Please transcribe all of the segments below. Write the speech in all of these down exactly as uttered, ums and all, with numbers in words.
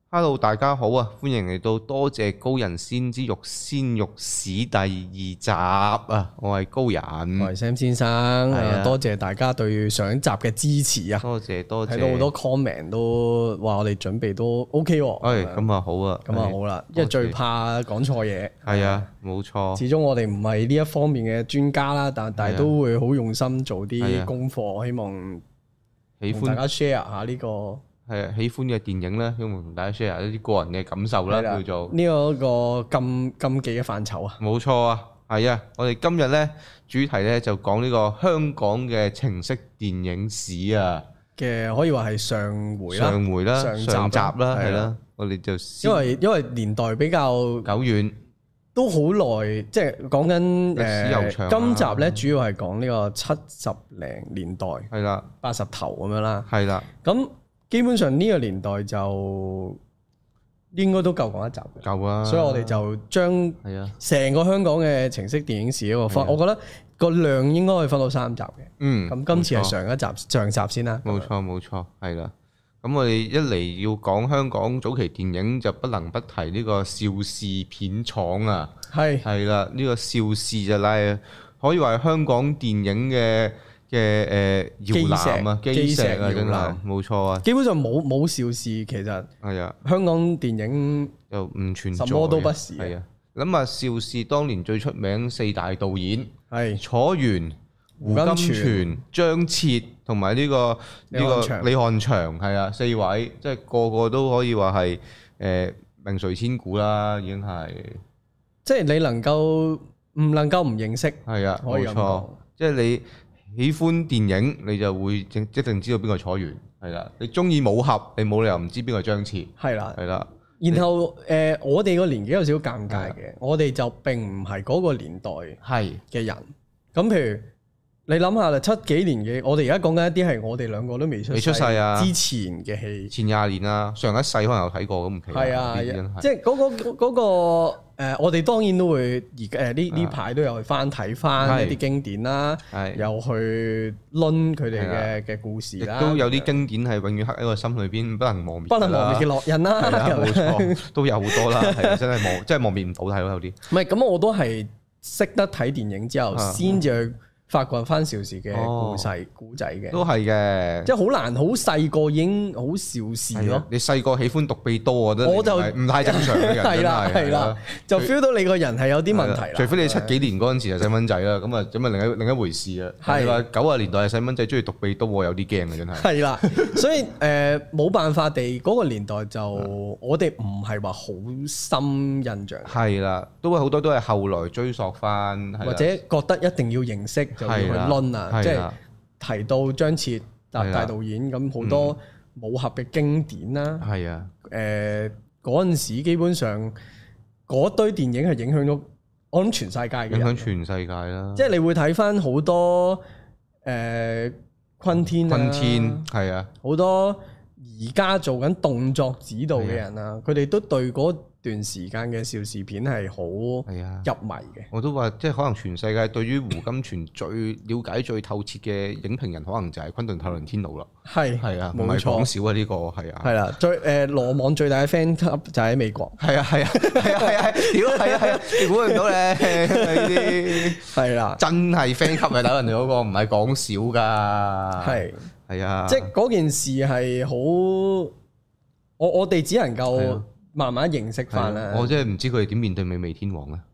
Hello， 大家好啊！歡迎嚟到多謝高人先知育先育史第二集啊！我係高人， 我係 Sam 先生，啊、多謝大家對上一集嘅支持啊！ 多謝多謝，睇到好多 comment 都話我哋準備都 OK 喎。 誒，咁啊好啊， 咁啊好啦，因為最怕講錯嘢。係啊， 冇錯。 始終我哋唔係呢一方面嘅專家啦，但但係都會好用心做啲功課，希望喜歡大家 share 下呢個。 係啊，喜歡嘅電影咧，希望同大家 share 一啲個人嘅感受啦，叫做呢個一個禁禁忌嘅範疇啊。 冇錯啊，係啊，我哋今日咧主題咧就講呢個香港嘅情色電影史啊嘅，可以話係上回啦， 上回啦，上集啦，係啦，我哋就因為因為年代比較久遠， 都好耐，即係講緊誒，今集咧主要係講呢個七十零年代，係啦，八十頭咁樣啦， 係啦， 咁。基本上呢個年代就應該都夠講一集嘅， 夠啊！ 所以我哋就將成個香港嘅情色電影史嗰個分，我覺得個量應該可以分到三集嘅。嗯，咁今次係上一集上集先啦。 冇錯冇錯，係啦。咁我哋一嚟要講香港早期電影，就不能不提呢個邵氏片廠啊。係係啦，呢個邵氏就係可以話係香港電影嘅。嘅誒搖籃啊，基石啊，真係冇錯啊！ 基本上冇冇邵氏，其實係啊，香港電影又唔存在， 什麼都不是。 係啊，諗下邵氏當年最出名四大導演係楚原、胡金銓、張徹同埋呢個呢個李翰祥，係啊，四位即係個個都可以話係誒名垂千古啦，已經係。 即係你能夠唔能夠唔認識？ 係啊，冇錯，即係你。喜歡電影，你就會一定知道邊個楚原，係啦。你中意武俠，你冇理由唔知邊個張徹，係啦，係啦。 然後誒、呃，我哋個年紀有少少尷尬嘅，的我哋就並唔係嗰個年代係嘅人。咁的譬如你諗下啦，七幾年嘅，我哋而家講緊一啲係我哋兩個都未出未出世啊之前嘅戲， 前廿年啊，上一世可能有睇過咁唔奇。係啊， 即係嗰個嗰、嗰個誒、呃，我哋當然都會而誒呢呢排都有去翻睇翻一啲經典啦，又去論佢哋嘅嘅故事啦， 亦都有啲經典係永遠刻喺個心裏邊，不能磨滅， 不能磨滅嘅烙印啦， 冇錯，都有好多啦，係真係磨，真係磨滅唔到睇咯，有啲。 唔係咁，我都係識得睇電影之後先至去。發掘翻邵氏嘅故事古仔嘅， 都係嘅， 即係好難，好細個已經好邵氏咯。 你細個喜歡獨臂刀，我覺得我就唔太正常嘅人， 係啦係啦，就 feel 到你個人係有啲問題啦。 除非你七幾年嗰陣時係細蚊仔啦，咁啊咁啊另一另一回事啦。係話九十年代係細蚊仔中意獨臂刀，我有啲驚嘅真係。係啦，所以誒冇辦法地嗰個年代就我哋唔係話好深印象。係啦， 都係好多都係後來追溯翻， 或者覺得一定要認識。就要去論啊，即係提到張徹大大導演咁好多武俠嘅經典啦。係啊，誒嗰陣時基本上嗰堆電影係影響咗我諗全世界嘅，影響全世界啦。 即係你會睇翻好多誒昆天，昆天係啊， 好多而家做緊動作指導嘅人啊，佢哋都對嗰段時間嘅邵氏片係好入迷嘅。 我都話，即係可能全世界對於胡金銓最了解最透徹嘅影評人，可能就係昆頓泰倫天奴啦。係係啊，唔係講少啊呢個係啊。係啦， 最誒羅網最大嘅 fan club 就喺美國。 係啊係啊係啊係啊，屌係啊係啊，你估唔到咧呢啲係啦，真係 fan club 啊！打人哋嗰個唔係講少㗎。係係啊， 即係嗰件事係好，我我哋只能夠。慢慢認識翻啦， 我真係唔知佢哋點面對美味天王咧。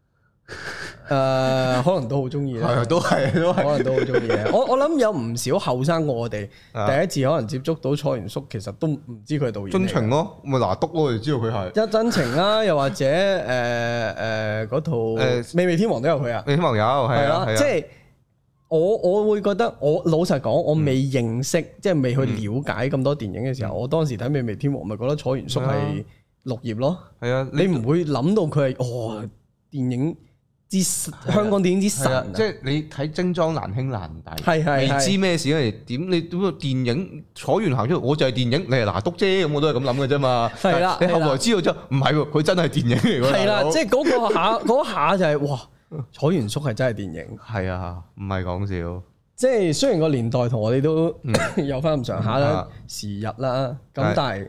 誒，可能都好中意啦， 都係，都係，可能都好中意嘅。我我諗有唔少後生過我哋，第一次可能接觸到楚原叔，其實都唔知佢係導演。 真情咯，咪拿督咯，我哋知道佢係。 一真情啦，又或者誒誒嗰套誒美味天王都有佢啊。 美味天王有，係啦， 即係我我會覺得，我老實講，我未認識，即係未去了解咁多電影嘅時候，我當時睇美味天王，咪覺得楚原叔係綠葉咯，係啊，你唔會諗到佢係哦，電影之香港電影之神， 即係你睇精裝難兄難弟， 係係未知咩事咧？點你點個電影楚原行出嚟，我就係電影，你係拿督啫，咁我都係咁諗嘅啫嘛。係啦，你後來知道之後，唔係喎，佢真係電影嚟㗎。係啦， 即係嗰個下嗰下就係哇，楚原叔係真係電影。 係啊，唔係講笑。 即係雖然個年代同我哋都有翻咁上下啦，時日啦，咁但係。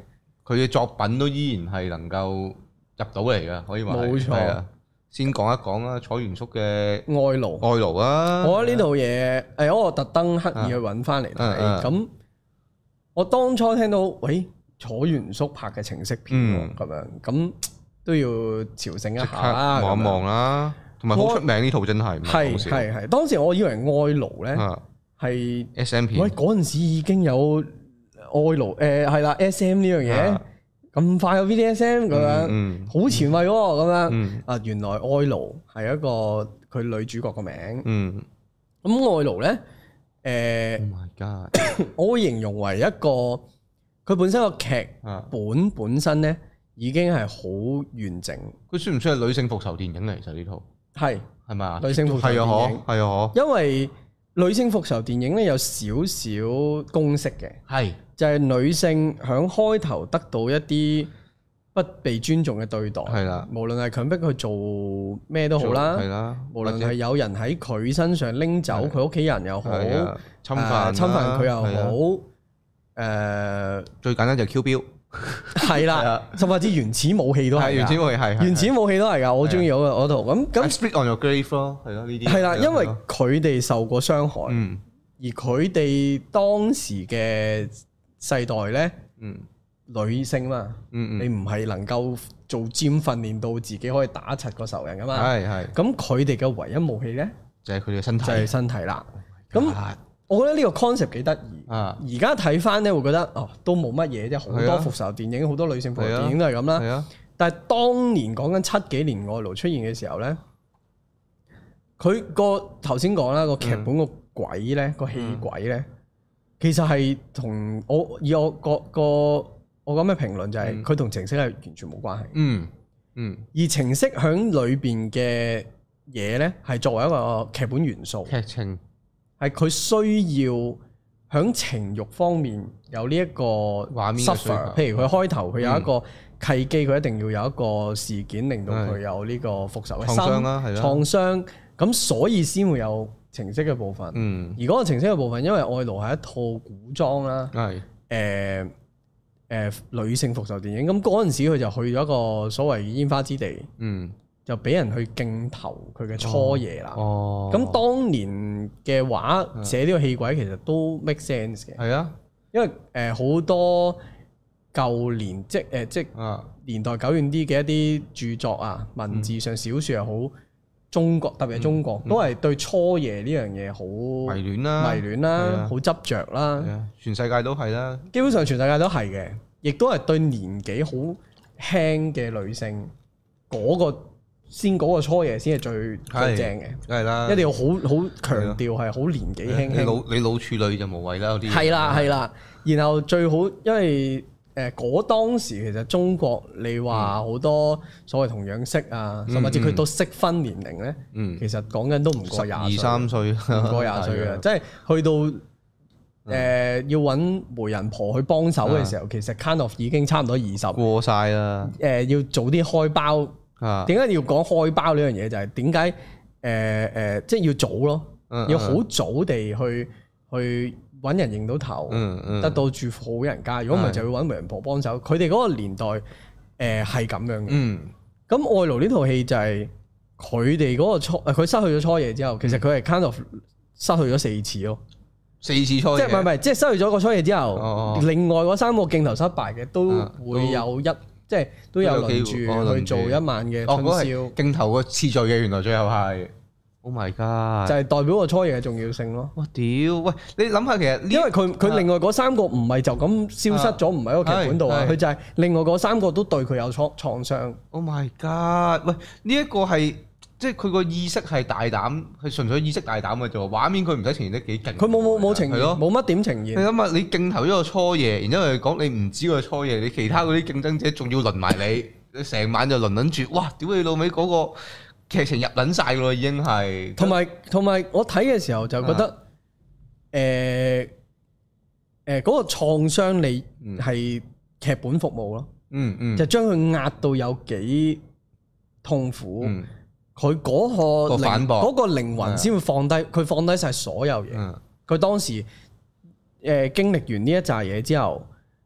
佢嘅作品都依然係能夠入到嚟嘅，可以話冇錯。 先講一講啦，楚原宿嘅愛奴， 愛奴啊！ 我覺得呢套嘢，誒，我特登刻意去揾翻嚟睇。咁我當初聽到，喂，楚原宿拍嘅情色片喎，咁樣咁都要朝聖一下啦， 望一望啦。同埋好出名呢套真係， 係係係。當時我以為愛奴咧係 S M 片， 喂，嗰陣時已經有愛奴，誒係啦 S M 呢樣嘢。咁快有 V D S M 咁樣，好前衛喎咁樣。啊，原來愛奴係一個佢女主角個名。嗯，咁愛奴咧，誒 ，Oh my God， 我會形容為一個佢本身個劇本本身咧已經係好完整。 佢算唔算係女性復仇電影嚟？其實呢套係係咪啊？ 女性復仇電影係啊， 係啊， 因為女性復仇電影咧有少少公式嘅，係。就係女性響開頭得到一啲不被尊重嘅對待，係啦，無論係強迫佢做咩都好啦，係啦，無論係有人喺佢身上拎走佢屋企人又好，侵犯侵犯佢又好，誒最簡單就係 Q 標， 係啦，甚至原始武器都係， 原始武器係， 原始武器都係㗎，我中意嗰個嗰套咁咁。 Spit on your grave 咯，係咯呢啲， 係啦，因為佢哋受過傷害，而佢哋當時嘅世代咧，嗯，女性嘛，嗯嗯，你唔係能夠做 gym 訓練到自己可以打柒個仇人噶嘛，係係。咁佢哋嘅唯一武器咧，就係佢哋嘅身體，就係身體啦。咁我覺得呢個 concept 幾得意。啊，而家睇翻咧，會覺得哦，都冇乜嘢啫，好多復仇電影，好多女性復仇電影都係咁啦。係啊。但係當年講緊七幾年愛奴出現嘅時候咧，佢個頭先講啦，個劇本個鬼咧，個戲鬼咧。其實係同我以我個個我講咩評論就係佢同情色係完全冇關係。嗯嗯。而情色響裏邊嘅嘢咧，係作為一個劇本元素，劇情係佢需要響情慾方面有呢一個畫面 suffer。譬如佢開頭佢有一個契機，佢一定要有一個事件令到佢有呢個復仇嘅心創傷啦，係啦，創傷咁，所以先會有情色嘅部分，嗯，而嗰個情色嘅部分，因為愛奴係一套古裝啦，係誒誒女性復仇電影，咁嗰陣時佢就去咗一個所謂煙花之地，嗯，就俾人去競投佢嘅初夜啦，哦，咁當年嘅話寫呢個戲鬼其實都 make sense 嘅，係啊，因為誒好多舊年即誒即年代久遠啲嘅一啲著作啊，文字上小説又好。中國特別係中國，嗯嗯、都係對初夜呢樣嘢好迷戀啦，迷戀啦，好執着啦。 全世界都係啦， 基本上全世界都係嘅，亦都係對年紀好輕嘅女性嗰、嗰個先嗰個初夜先係最最正嘅，係啦，一定要好好強調係好年紀輕輕。 你老你老處女就無謂啦，嗰啲係啦係啦，然後最好因為。誒嗰當時其實中國你話好多所謂同樣色啊，甚至佢到適婚年齡咧，其實講緊都唔過廿二三歲， 唔過廿歲嘅，即係去到誒要揾媒人婆去幫手嘅時候，其實 kind of 已經差唔多二十過晒啦。 誒要早啲開包，點解要講開包呢樣嘢？就係點解誒誒，即係要早咯，要好早地去去。揾人認到頭，嗯嗯、得到住好人家。如果唔係，就要揾媒人婆幫手。佢哋嗰個年代，誒係咁樣嘅。咁、嗯、愛奴呢套戲就係佢哋嗰個初，佢失去咗初夜之後，其實佢係 kind of 失去咗四次咯。 四次初夜， 即係唔係唔係，即係失去咗個初夜之後，哦、另外嗰三個鏡頭失敗嘅都會有一，啊、即係都有輪住去做一晚嘅春宵。 哦、鏡頭個次序嘅，原來最後係。Oh my god！就係代表個初夜嘅重要性咯。 哇屌！喂，你諗下其實， 因為佢佢另外嗰三個唔係就咁消失咗，唔喺個劇本度啊。佢就係另外嗰三個都對佢有創創傷。 Oh my god！喂，呢一個係即係佢個意識係大膽，係純粹意識大膽嘅啫。畫面佢唔使呈現得幾勁。 佢冇冇冇呈現，冇乜點呈現。 你諗下，你鏡頭一個初夜，然之後講你唔知個初夜，你其他嗰啲競爭者仲要輪埋你，你成晚就輪輪住。哇！屌你老味嗰個！劇情入撚晒㗎咯，已經係。同埋同埋，我睇嘅時候就覺得，誒誒嗰個創傷你係劇本服務咯。嗯嗯。就將佢壓到有幾痛苦，佢嗰個靈嗰個靈魂先會放低，佢放低晒所有嘢。佢當時誒經歷完呢一紮嘢之後，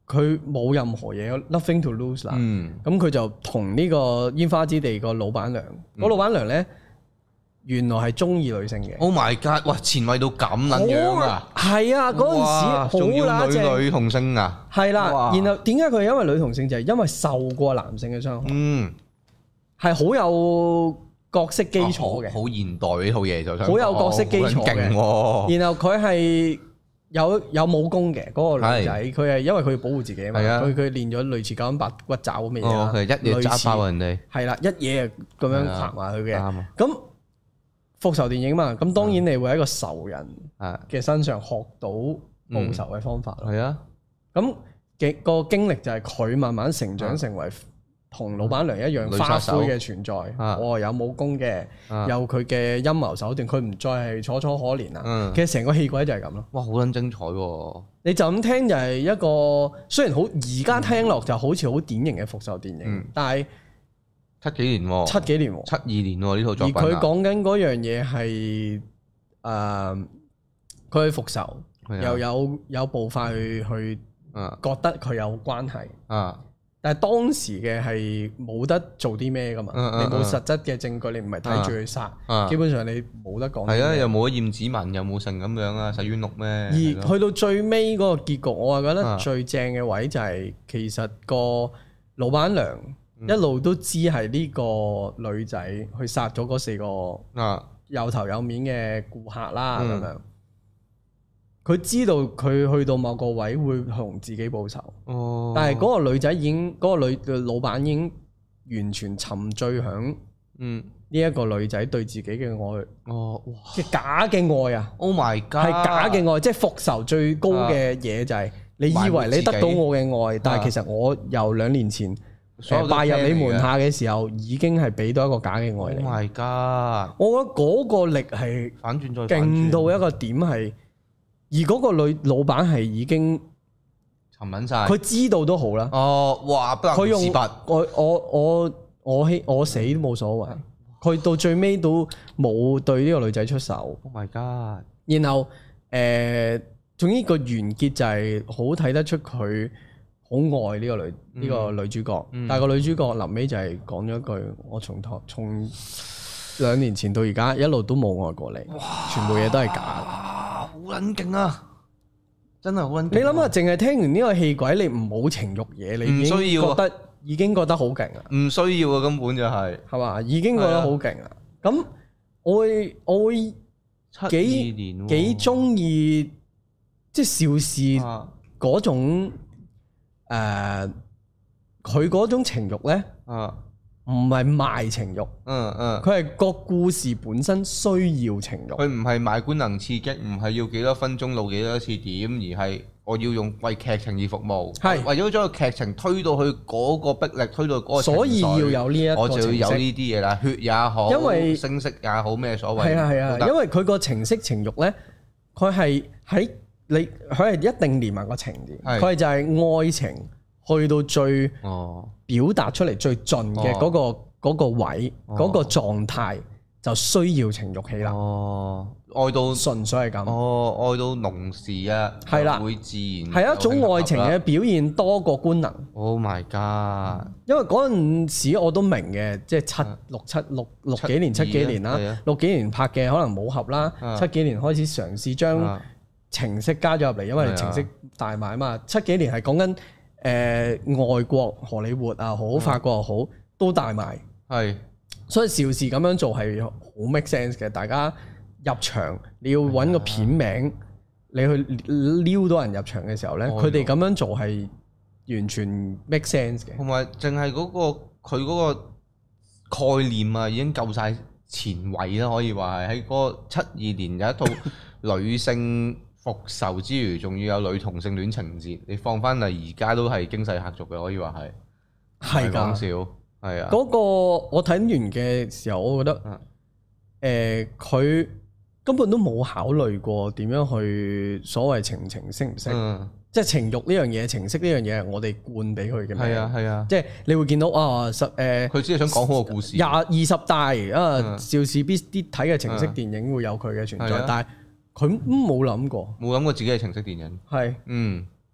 佢冇任何嘢，nothing to lose 啦。咁佢就同呢個煙花之地個老闆娘，個老闆娘咧原來係中意女性嘅。 Oh my god！ 哇，前衛到咁撚樣啊！ 係啊，嗰陣時仲要好女女同性啊！ 係啦，然後點解佢係因為女同性就係因為受過男性嘅傷害。嗯，係好有角色基礎嘅， 好現代呢套嘢就好有角色基礎嘅。然後佢係。有有武功嘅嗰個女仔，佢係因為佢要保護自己啊嘛，佢佢練咗類似九陰白骨爪咁嘅嘢啦， 一嘢揸爆人哋， 係啦，一嘢咁樣拍埋佢嘅。咁復仇電影嘛，咁當然你會喺一個仇人嘅身上學到報仇嘅方法咯。係啊，咁嘅個經歷就係佢慢慢成長成為同老闆娘一樣花魁嘅存在，哦，有武功嘅，有佢嘅陰謀手段，佢唔再係楚楚可憐啦。其實成個戲軌就係咁咯。 哇，好撚精彩喎！ 你就咁聽就係一個，雖然好而家聽落就好似好典型嘅復仇電影，但係七幾年喎， 七幾年喎， 七二年喎呢套作品。 而佢講緊嗰樣嘢係誒，佢去復仇，又有有步伐去去覺得佢有關係。但係當時嘅係冇得做啲咩噶嘛，嗯嗯嗯、你冇實質嘅證據，你唔係睇住佢殺，嗯嗯、基本上你冇得講。係啊，又冇驗指紋，又冇成咁樣啊，洗冤錄咩？ 而去到最尾嗰個結局，我係覺得最正嘅位就係、是、其實個老闆娘一路都知係呢個女仔去殺咗嗰四個有頭有面嘅顧客啦，咁、嗯、樣。佢知道佢去到某個位會同自己報仇，哦、但係嗰個女仔已經嗰、嗰個女嘅老闆已經完全沉醉響呢一個女仔對自己嘅愛，哦，哇，嘅假嘅愛啊 ！Oh my god， 係假嘅愛，即係復仇最高嘅嘢就係你以為你得到我嘅愛，但係其實我由兩年前拜入你門下嘅時候，已經係俾到一個假嘅愛你。 Oh my god， 我覺得嗰個力係反轉再反轉， 勁到一個點係。而嗰個女老闆係已經沉穩晒， 佢知道都好啦。 哦，哇！佢用我我我我希我死都冇所謂。佢到最尾都冇對呢個女仔出手。 Oh my god！ 然後誒，總之個完結就係好睇得出佢好愛呢個女呢、嗯、個女主角。嗯、但係個女主角臨尾就係講咗一句：我從頭從兩年前到而家一路都冇愛過你，哇全部嘢都係假。 好撚勁啊！真係好撚勁。 你諗下，淨係聽完呢個戲軌，你唔冇情慾嘢，你已經覺得已經覺得好勁啊！ 唔需要啊，根本就係係嘛， 已經覺得好勁啊！咁我會我會幾幾中意，即係邵氏嗰種誒，佢嗰種情慾咧。啊唔係賣情慾，嗯嗯，佢係個故事本身需要情慾。 佢唔係賣官能刺激，唔係要幾多分鐘露幾多次點，而係我要用為劇情而服務，係是為咗將個劇情推到去嗰個逼力，推到嗰個情緒。所以要有呢一個，我就要有呢啲嘢啦，血也好，因為聲色也好，咩所謂？ 係啊係啊，因為佢個情色情慾咧，佢係喺你，佢係一定連埋個情節，佢係是就係愛情。去到最表達出嚟最盡嘅嗰個嗰個位嗰個狀態，就需要情慾戲啦。哦，愛到純粹係咁。 哦，愛到濃時啊，係啦，會自然係一種愛情嘅表現多過官能。 Oh my god！ 因為嗰陣時我都明嘅，即係七六七六六幾年七幾年啦，六幾年拍嘅可能武俠啦，七幾年開始嘗試將情色加咗入嚟，因為情色大賣啊嘛。七幾年係講緊。誒、呃、外國荷里活啊，好法國又好，都大賣。係是，所以邵氏咁樣做係好 make sense 嘅。大家入場，你要揾個片名，的你去撩到人入場嘅時候咧，佢哋咁樣做係完全 make sense 嘅。同埋淨係嗰個佢嗰個概念啊，已經夠晒前衛啦，可以話係喺嗰七二年有一套女性。復仇之餘，仲要有女同性戀情節，你放翻嚟而家都係驚世駭俗嘅，可以話係。係講笑，係啊。嗰個我睇完嘅時候，我覺得，誒佢、呃、根本都冇考慮過點樣去所謂情情識唔識，嗯、即係情慾呢樣嘢、情色呢樣嘢，我哋灌俾佢嘅。係啊係啊，即係你會見到啊十誒，佢只係想講好個故事。 廿二十大啊，邵氏必啲睇嘅情色電影會有佢嘅存在，嗯、但係。佢都冇諗過， 冇諗過自己係情色電影。係是，嗯，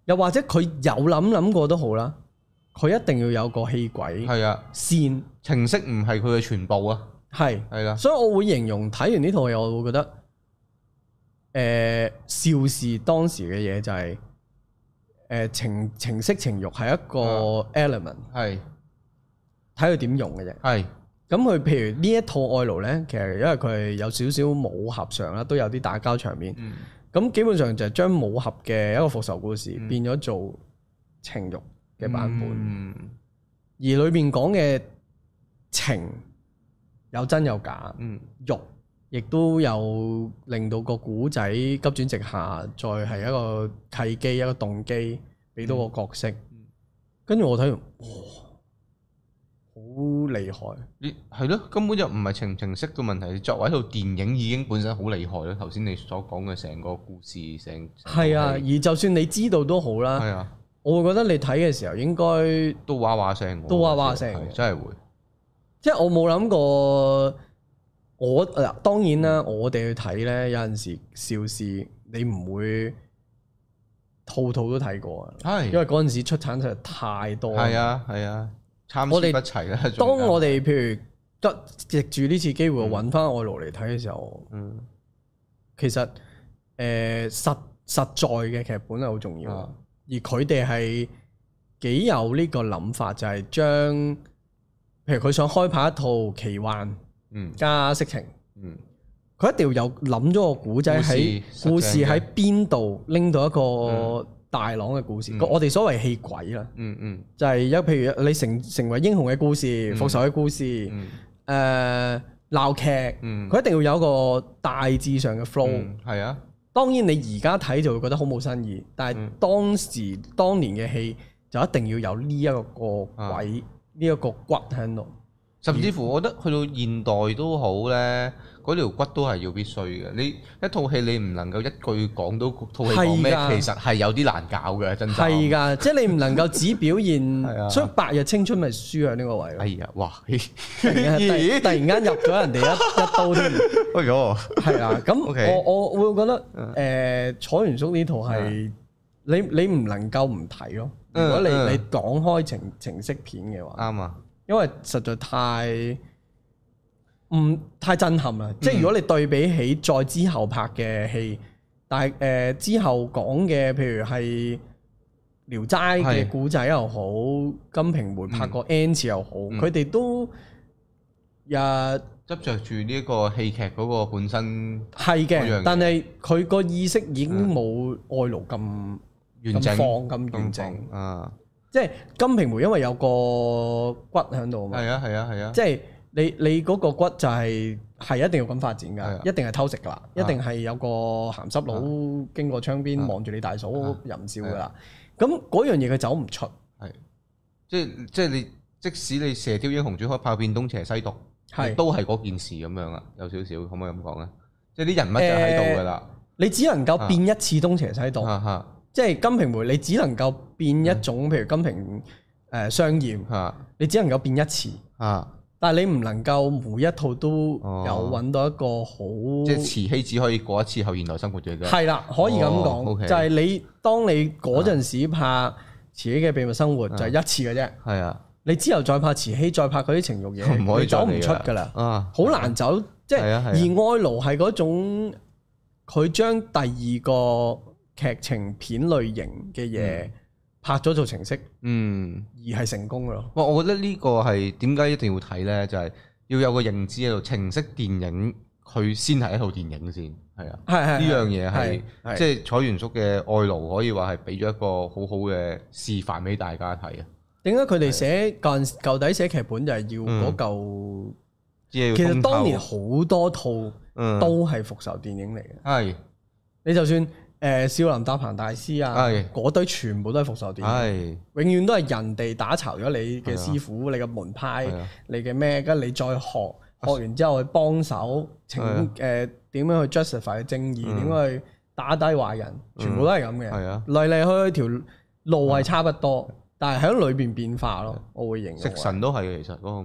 又或者佢有諗諗過都好啦，佢一定要有個戲軌， 係啊， 線情色唔係佢嘅全部啊， 係係啦， 所以我會形容睇完呢套戲，我會覺得，誒、呃，邵氏當時嘅嘢就係、是，誒、呃、情情色情慾係一個 element，係睇佢點用嘅啫，係。咁佢譬如呢一套愛奴咧，其實因為佢係有少少武俠上啦，都有啲打交場面。咁、嗯、基本上就係將武俠嘅一個復仇故事變咗做情慾嘅版本。嗯、而裏面講嘅情有真有假，嗯、慾亦都有令到個古仔急轉直下，再係一個契機、一個動機，俾到個角色。跟住、嗯、我睇完，哇！好厲害！你係咯，根本就唔係情唔情色嘅問題。作為一套電影，已經本身好厲害咯。頭先你所講嘅成個故事，成係啊。而就算你知道都好啦，係啊。我會覺得你睇嘅時候應該都哇哇聲， 都哇哇聲， 真係會。 即係我冇諗過，我嗱當然啦，我哋去睇咧，有陣時邵氏你唔會套套都睇過啊。係，因為嗰陣時出產實在太多。係啊，係啊。參差不齊啦。 當我哋譬如得藉住呢次機會揾翻愛奴嚟睇嘅時候，嗯，其實誒、呃、實實在嘅劇本係好重要，嗯、而佢哋係幾有呢個諗法，就係將譬如佢想開拍一套奇幻，嗯，加色情，嗯，佢一定要有諗咗個古仔喺故事喺邊度拎到一個。嗯大朗嘅故事，嗯、我哋所謂戲軌啦，嗯嗯，就係一譬如你成成為英雄嘅故事、復仇嘅故事，誒鬧、嗯呃、劇，佢、嗯、一定要有一個大致上嘅 flow，係、嗯、啊。當然你而家睇就會覺得好冇新意，但係當時、嗯、當年嘅戲就一定要有呢一個個軌，呢一、啊、個骨喺度。 甚至乎，我覺得去到現代都好咧，嗰條骨都係要必須嘅。你一套戲你唔能夠一句講到套戲講咩，的其實係有啲難搞嘅，真係。係㗎，即係你唔能夠只表現，的所以白日青春咪輸喺呢個位咯。哎呀，哇！突然間突然間入咗人哋一一刀添。哎呦，係啦，咁 Okay. 我我會覺得誒、呃，楚原宿呢套係你你唔能夠唔睇咯。如果你你講開情情色片嘅話，啱啊。因為實在太唔太震撼啦，嗯、即係如果你對比起再之後拍嘅戲，但係誒、呃、之後講嘅，譬如係《聊齋》嘅古仔又好，《金瓶梅》拍過 N 次又好，佢哋、嗯、都日執着住呢一個戲劇嗰個本身係嘅，但係佢個意識已經冇愛奴咁完整，放咁完整啊。即係金瓶梅，因為有個骨喺度嘛。係啊係啊係啊！即係你你嗰個骨就係係一定要咁發展㗎，一定係偷食㗎啦，一定係有個鹹濕佬經過窗邊望住你大嫂淫笑㗎啦。咁嗰樣嘢佢走唔出。係， 即係即係你即使你射雕英雄傳開炮變東邪西毒，係都係嗰件事咁樣啊，有少少可唔可以咁講咧？即係啲人物就喺度㗎啦。你只能夠變一次東邪西毒。即係金瓶梅，你只能夠變一種，譬如金瓶誒雙艷，你只能夠變一次。但係你唔能夠每一套都有揾到一個好。即係慈禧只可以過一次後現代生活嘅啫。係啦，可以咁講，就係你當你嗰陣時拍慈禧嘅秘密生活就係一次嘅啫。係啊，你之後再拍慈禧，再拍嗰啲情慾嘢，你走唔出㗎啦。啊，好難走。即係而愛奴係嗰種，佢將第二個劇情片類型嘅嘢、嗯、拍咗做程式，嗯，而係成功嘅咯。哇！我覺得呢個係點解一定要睇咧？就係、是、要有個認知喺度，程式電影佢先係一套電影先，係啊，係係呢樣嘢係即係楚原宿嘅愛奴可以話係俾咗一個好好嘅示範俾大家睇啊。點解佢哋寫舊舊底寫劇本就係要嗰嚿？嗯、其實當年好多套都係復仇電影嚟嘅，係、嗯、你就算。誒少林搭棚大師啊，嗰是堆全部都係復仇電影，是永遠都係人哋打巢咗你嘅師傅、的你嘅門派、的你嘅咩，跟住你再學，學完之後去幫手，請誒點樣去 justify 正義，點樣的去打低壞人，全部都係咁嘅，嚟嚟去去條路係差不多，的但係喺裏邊變化咯，我會認為。食神都係嘅，其實嗰個味。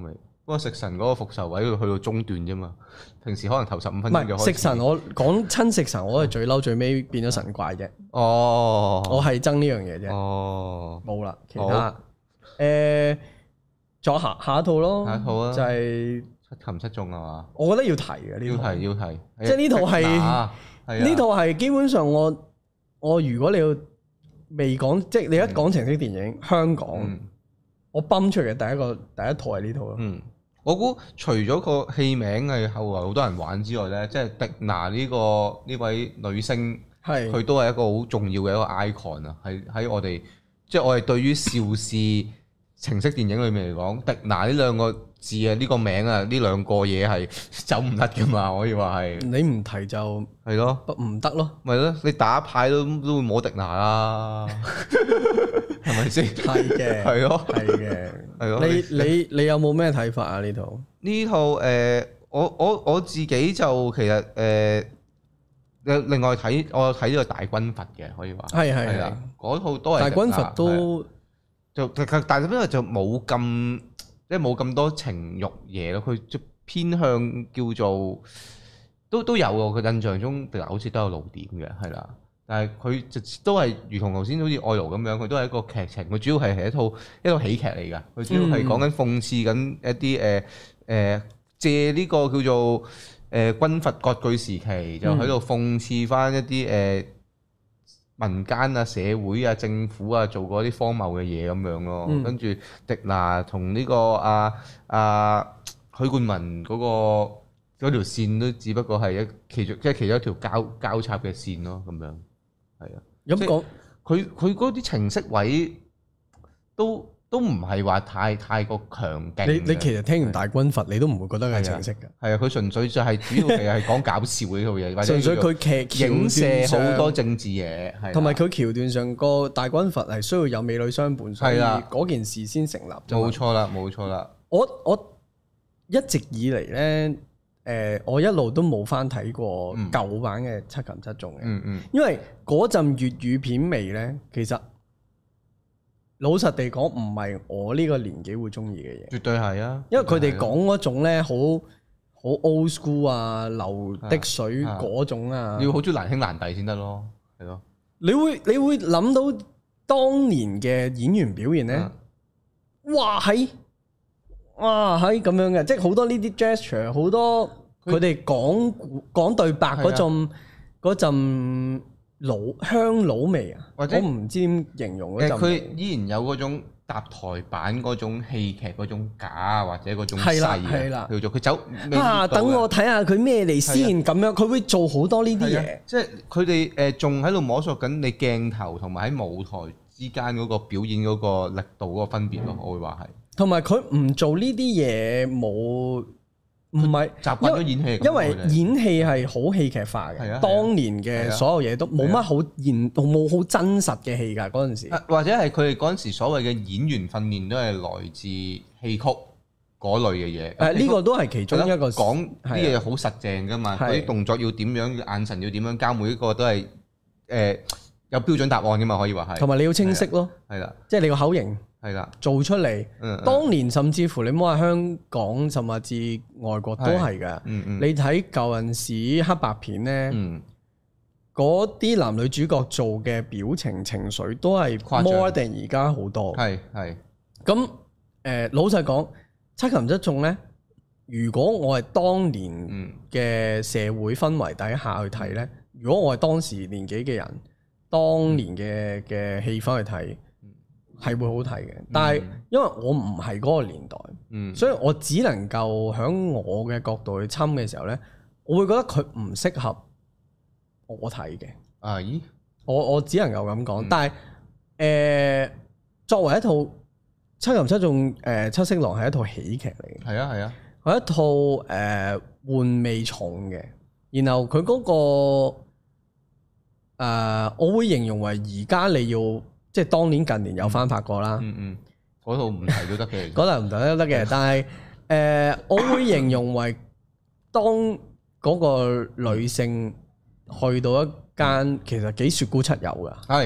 不過食神嗰個復仇位去到中段啫嘛，平時可能頭十五分鐘就開始。 食神我講親食神，我係最嬲最尾變咗神怪啫。 哦， 我係憎呢樣嘢啫。 哦， 冇啦，其他誒，再下下一套咯。 下一套啊， 就係七擒七縱係嘛？ 我覺得要提嘅呢套。要提要提， 即係呢套係呢套係基本上我我如果你要未講，即係你一講情色電影香港，我泵出嚟嘅第一個第一套係呢套咯。嗯。 我估除咗個戲名係後來好多人玩之外咧，即係迪娜呢個呢位女星，係佢都係一個好重要嘅一個 icon 啊！喺喺我哋即係我哋對於邵氏情色電影裏面嚟講，迪娜呢兩個字啊，呢個名啊，呢兩個嘢係走唔甩噶嘛，可以話係。你唔提就係咯，唔得咯。咪咯，你打牌都都會摸迪娜啦。係咪先？係嘅，係咯，係嘅，係咯。你你你有冇咩睇法啊？呢套呢套誒，我我我自己就其實誒，另外睇我睇呢個大軍閥嘅，可以話係係係嗰套都係大軍閥都就其實大軍閥就冇咁即係冇咁多情慾嘢咯，佢就偏向叫做都都有喎。佢印象中嗱，好似都有露點嘅，係啦。但係佢就都係如同頭先好似愛奴咁樣，佢都係一個劇情。佢主要係係一套一套喜劇嚟㗎。佢主要係講緊諷刺緊一啲誒誒借呢個叫做誒、呃、軍閥割據時期，就喺度諷刺翻一啲誒、呃、民間啊、社會啊、政府啊做過啲荒謬嘅嘢咁樣咯。嗯、跟住迪娜同呢個阿阿許冠文嗰、那個嗰條線都只不過係一其中即係其中一條交交叉嘅線咯，咁樣。係啊，咁講佢佢嗰啲情色位都都唔係話太太過強勁。你你其實聽完大軍閥，你都唔會覺得係情色嘅。係啊，佢純粹就係主要係係講搞笑呢套嘢，或者純粹佢劇影射好多政治嘢，係同埋佢橋段上個大軍閥係需要有美女相伴，所以嗰件事先成立。冇錯啦，冇錯啦。我我一直以嚟咧。誒、呃，我一路都冇翻睇過舊版嘅《七擒七縱》嘅，嗯嗯、因為嗰陣粵語片味咧，其實老實地講唔係我呢個年紀會中意嘅嘢。絕對係啊，因為佢哋講嗰種咧，好好 old school 啊，流的水嗰種啊，要好中意難兄難弟先得咯，係咯。你會你會諗到當年嘅演員表現咧，啊、哇喺〜哇，係咁樣嘅，即係好多呢啲 gesture， 好多佢哋講講對白嗰陣嗰陣老香老味啊，或者我唔知點形容嗰陣。佢依然有嗰種搭台版嗰種戲劇嗰種假或者嗰種細嘅，叫做佢走啊！等我睇下佢咩嚟先咁樣，佢會做好多呢啲嘢。即係佢哋誒仲喺度摸索緊你鏡頭同埋喺舞台之間嗰個表演嗰個力度嗰個分別咯，嗯、我會話係。同埋佢唔做呢啲嘢冇，唔係習慣咗演戲，因為演戲係好戲劇化嘅。係啊，當年嘅所有嘢都冇乜好現，冇好真實嘅戲㗎嗰陣時。或者係佢哋嗰陣時所謂嘅演員訓練都係來自戲曲嗰類嘅嘢。誒，呢個都係其中一個講啲嘢好實淨㗎嘛。嗰啲動作要點樣，眼神要點樣交，每一個都係誒有標準答案㗎嘛，可以話係。同埋你要清晰咯，係啦，即係你個口型。係啦，做出嚟，嗯嗯、當年甚至乎你摸下香港，甚至外國都係嘅。嗯嗯、你睇舊陣時黑白片咧，嗰啲、嗯、男女主角做嘅表情情緒都係 more than 而家好多。係係。咁誒、呃，老實講，七擒七縱咧，如果我係當年嘅社會氛圍底下去睇咧，嗯、如果我係當時年紀嘅人，當年嘅嘅氣氛去睇。係會好睇嘅，但係因為我唔係嗰個年代，嗯、所以我只能夠喺我嘅角度去侵嘅時候呢，我會覺得佢唔適合我睇嘅。啊咦？我我只能夠咁講，嗯、但係誒、呃、作為一套七擒七縱，誒七色狼係一套喜劇嚟嘅，係啊係啊，係、啊、一套誒、呃、玩味重嘅，然後佢嗰、那個、呃、我會形容為而家你要。即係當年近年有翻拍過啦，嗯嗯，嗰套唔提都得嘅，嗰套唔提都得嘅。但係誒、呃，我會形容為當嗰個女性去到一間其實幾雪姑七友㗎，係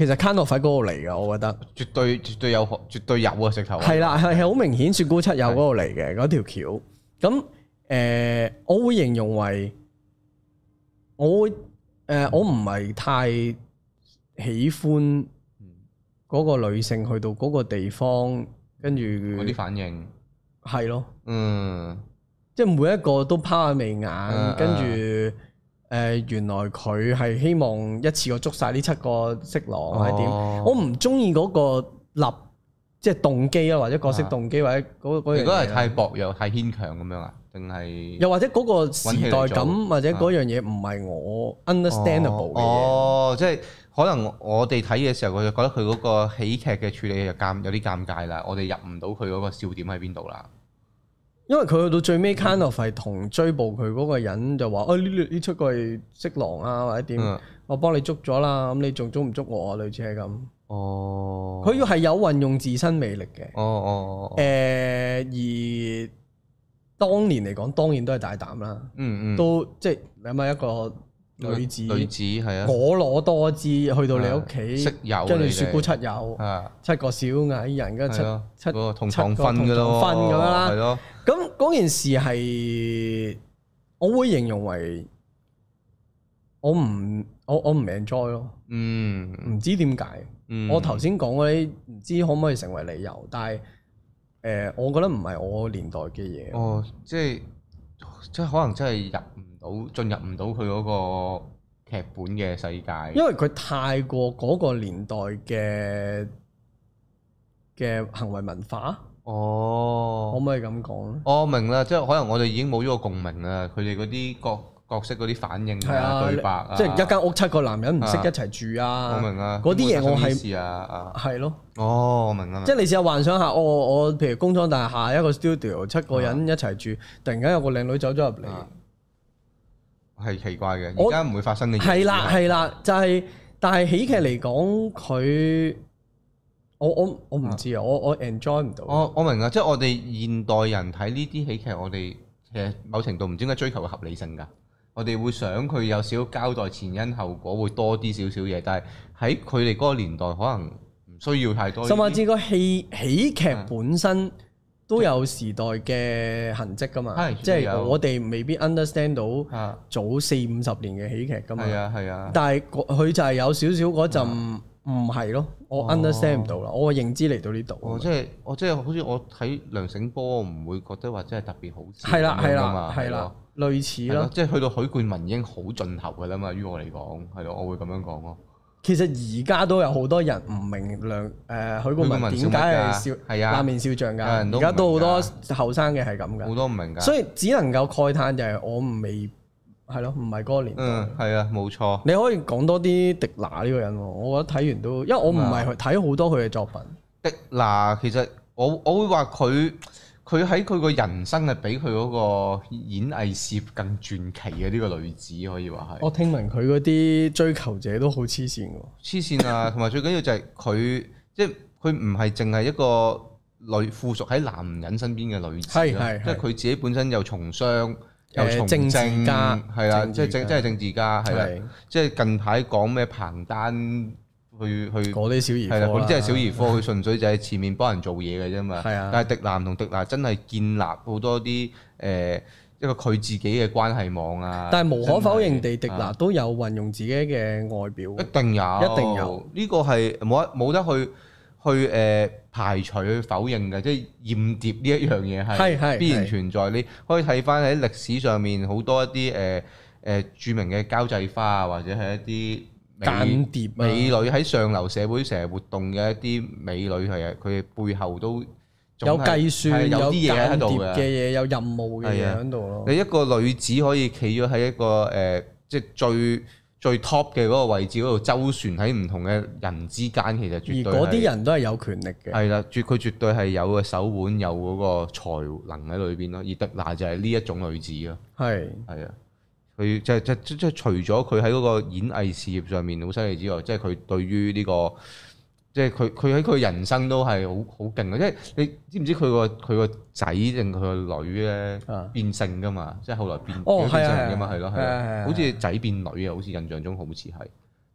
其實 kind of 喺嗰度嚟㗎，我覺得絕對絕對有絕對有啊！直頭係啦，係係好明顯雪姑七有嗰度嚟嘅嗰條橋。咁誒、呃，我會形容為我會誒、呃，我唔係太喜歡嗰個女性去到嗰個地方，跟住嗰啲反應係咯， 嗯， 即係每一個都拋下眉眼，跟住、嗯。誒、呃、原來佢係希望一次過捉晒呢七個色狼，或者點？我唔中意嗰個立即係動機啊，或者角色動機，啊、或者嗰嗰樣嘢。如果係太薄弱、太牽強咁樣啊？定係又或者嗰個時代感，或者嗰樣嘢唔係我 understandable 嘅嘢。 哦，即係可能我哋睇嘅時候，我就覺得佢嗰個喜劇嘅處理就尷有啲尷尬啦。我哋入唔到佢嗰個笑點喺邊度啦。 因為佢去到最尾 kind of 係同追捕佢嗰個人就話：，啊呢呢出個係色狼啊，或者點？嗯、我幫你捉咗啦，咁你仲捉唔捉我啊？類似係咁。哦。佢要係有運用自身魅力嘅。哦哦。誒、呃，而當年嚟講，當然都係大膽啦。嗯嗯。都即係諗下一個女子， 女子係啊， 婀娜多姿，去到你屋企， 識友， 跟住雪姑七友，七個小矮人，跟住七七個同床瞓嘅咯， 瞓咁樣啦。 係咯。 咁嗰件事係，我會形容為我唔我我唔 enjoy 咯。嗯，唔知點解。嗯、我頭先講嗰啲唔知可唔可以成為理由，但係誒、呃，我覺得唔係我年代嘅嘢。哦， 即係即係可能真係入唔到，進入唔到佢嗰個劇本嘅世界。 因為佢太過嗰個年代嘅嘅行為文化。哦，可唔可以咁講咧？ 我明啦，即係可能我哋已經冇咗個共鳴啦。佢哋嗰啲角角色嗰啲反應啊、對白啊， 即係一間屋七個男人唔識一齊住啊。 我明啊， 嗰啲嘢我係係咯。 哦，我明啦。 即係你試下幻想下，我我譬如工廠大廈一個 studio 七個人一齊住，突然間有個靚女走咗入嚟， 係奇怪嘅。而家唔會發生嘅嘢。 係啦係啦，就係但係喜劇嚟講佢。我我我唔知啊，我我 enjoy 唔到。 我我明啊，即係我哋現代人睇呢啲喜劇，我哋其實某程度唔知點解追求嘅合理性㗎。我哋會想佢有少少交代前因後果，會多啲少少嘢。但係喺佢哋嗰個年代，可能唔需要太多。 甚至個戲喜劇本身都有時代嘅痕跡㗎嘛。係，即係我哋未必 understand 到早四五十年嘅喜劇㗎嘛。係啊係啊。但係佢就係有少少嗰陣。唔係咯，我 understand 唔到啦，我認知嚟到呢度。 哦，即係我即係好似我睇梁醒波，我唔會覺得話真係特別好笑。 係啦係啦係啦，類似咯。 即係去到許冠文已經好盡頭㗎啦嘛，於我嚟講係咯，我會咁樣講咯。 其實而家都有好多人唔明梁誒許冠文點解係笑係啊冷面笑匠㗎，而家都好多後生嘅係咁㗎， 好多唔明㗎。 所以只能夠慨嘆就係我未。係咯，唔係嗰個年代。 嗯，係啊，冇錯。 你可以講多啲迪娜呢個人喎，我覺得睇完都，因為我唔係去睇好多佢嘅作品。 迪娜其實我我會話佢佢喺佢個人生係比佢嗰個演藝事業更傳奇嘅呢個女子可以話係。 我聽聞佢嗰啲追求者都好黐線喎。 黐線啊！同埋最緊要就係佢即係佢唔係淨係一個女附屬喺男人身邊嘅女子咯，即係佢自己本身又從商。又從政係啦，即係政即係政治家係啦，即係近排講咩彭丹去去嗰啲小兒科， 係啦，嗰啲即係小兒科，佢純粹就係前面幫人做嘢嘅啫嘛。係啊，但係迪娜同迪娜真係建立好多啲誒一個佢自己嘅關係網啊。 但係無可否認地，迪娜都有運用自己嘅外表， 一定有，一定有。呢個係冇得冇得去去誒排除去否認嘅，即係豔諜呢一樣嘢係必然存在。你可以睇翻喺歷史上面好多一啲誒誒著名嘅交際花啊，或者係一啲間諜美女喺上流社會成日活動嘅一啲美女係啊，佢哋背後都有計算，有啲嘢喺度嘅嘢，有任務嘅嘢喺度咯。 你一個女子可以企咗喺一個誒，即係最最 top 嘅嗰個位置嗰度周旋喺唔同嘅人之間，其實絕對而嗰啲人都係有權力嘅。 係啦，絕佢絕對係有個手腕，有嗰個才能喺裏邊咯。而迪娜就係呢一種女子咯。係係啊，佢即係即即即除咗佢喺嗰個演藝事業上面好犀利之外，即係佢對於呢個即係佢佢喺佢人生都係好好勁啊！即係你知唔知佢個佢個仔定佢個女咧變性噶嘛？即係後來變變性噶嘛？係咯係啊，好似仔變女啊！好似印象中好似係，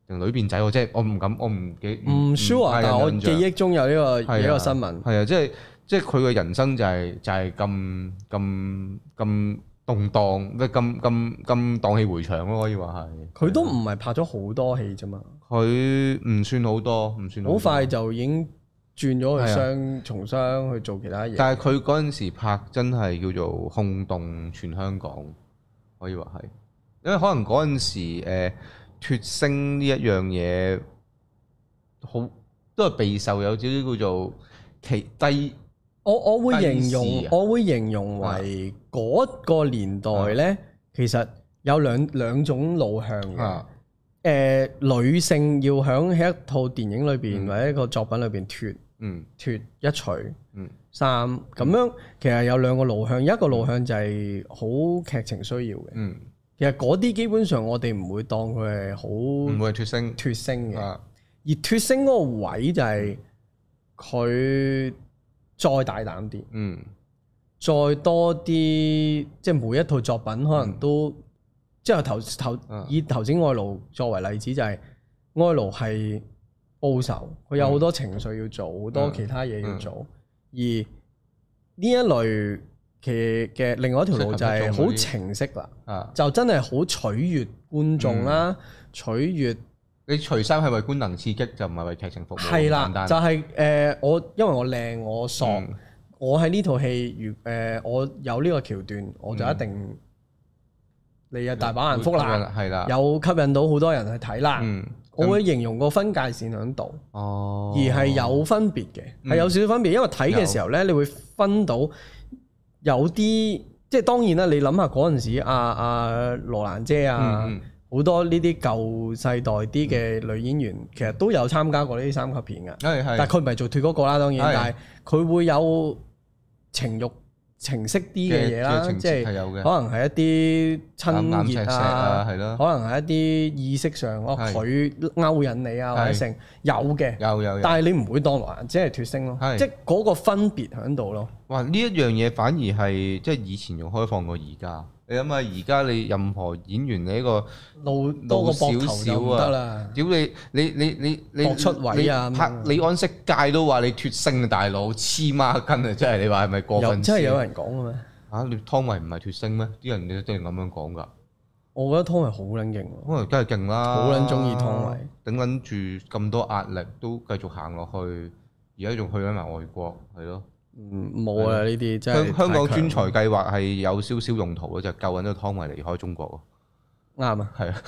定女變仔？我即係我唔敢，我唔記唔 sure，但係我記憶中有呢個呢個新聞。 係啊，即係即係佢嘅人生就係就係咁咁咁動盪，咩咁咁咁蕩氣迴腸咯，可以話係。佢都唔係拍咗好多戲啫嘛。 佢唔算好多，唔算好多。 好快就已經轉咗去商從商去做其他嘢。 但係佢嗰陣時拍真係叫做轟動全香港，可以話係。因為可能嗰陣時誒脫星呢一樣嘢，好都係備受有少少叫做其低。 我我會形容，啊、我會形容為嗰個年代咧，啊、其實有兩兩種路向嘅。誒、啊呃，女性要響喺一套電影裏邊、嗯、或者一個作品裏邊脫，嗯，脫一除，嗯，衫咁樣，其實有兩個路向，一個路向就係好劇情需要嘅。嗯，其實嗰啲基本上我哋唔會當佢係好，唔會脫星脫星嘅。啊、而脫星嗰個位就係佢。再大膽啲，嗯，再多啲，即係每一套作品可能都，嗯、即係頭頭以頭先愛奴作為例子，就係、是、愛奴係報仇，佢有好多情緒要做，好、嗯、多其他嘢要做，嗯、而呢一類嘅嘅另外一條路就係好情色啦，啊、就真係好取悅觀眾啦，嗯、取悅。 你除衫係為觀能刺激，就唔係為劇情服務。 係啦，就係、是、誒、呃、我因為我靚我索，嗯、我喺呢套戲如誒我有呢個橋段，我就一定、嗯、你有大把人覆啦，係啦，有吸引到好多人去睇啦。嗯、我會形容個分界線喺度，哦、而係有分別嘅，係、嗯、有少少分別，因為睇嘅時候咧，有你會分到有啲即係當然啦。你諗下嗰陣時，阿阿羅蘭姐啊。嗯好多呢啲舊世代啲嘅女演員，嗯、其實都有參加過呢啲三級片嘅，係係，但係佢唔係做脫嗰個啦，當然，係但係佢會有情慾情色啲嘅嘢啦，即係可能係一啲親熱啊，係咯，可能係一啲意識上，哦佢勾引你啊，或者成有嘅，有有，但係你唔會當羅蘭姐係脫星咯，即係嗰個分別喺度咯。 哇！呢一樣嘢反而係即係以前仲開放過而家。你諗下，而家你任何演員你呢個露多個膊頭就唔得啦！ 屌你你你你你搏出位啊！ 拍李安色戒都話你脫星啊，大佬黐孖筋啊！真係你話係咪過分？ 真係有人講嘅咩？ 嚇！你湯唯唔係脫星咩？啲人你真係咁樣講㗎。 我覺得湯唯好撚勁喎。湯唯梗係勁啦， 好撚中意湯唯， 頂撚住咁多壓力都繼續行落去，而家仲去緊埋外國，係咯。 嗯，冇啊！呢啲真係香港專才計劃係有少少用途嘅，就救緊咗湯唯離開中國喎。啱啊，係啊，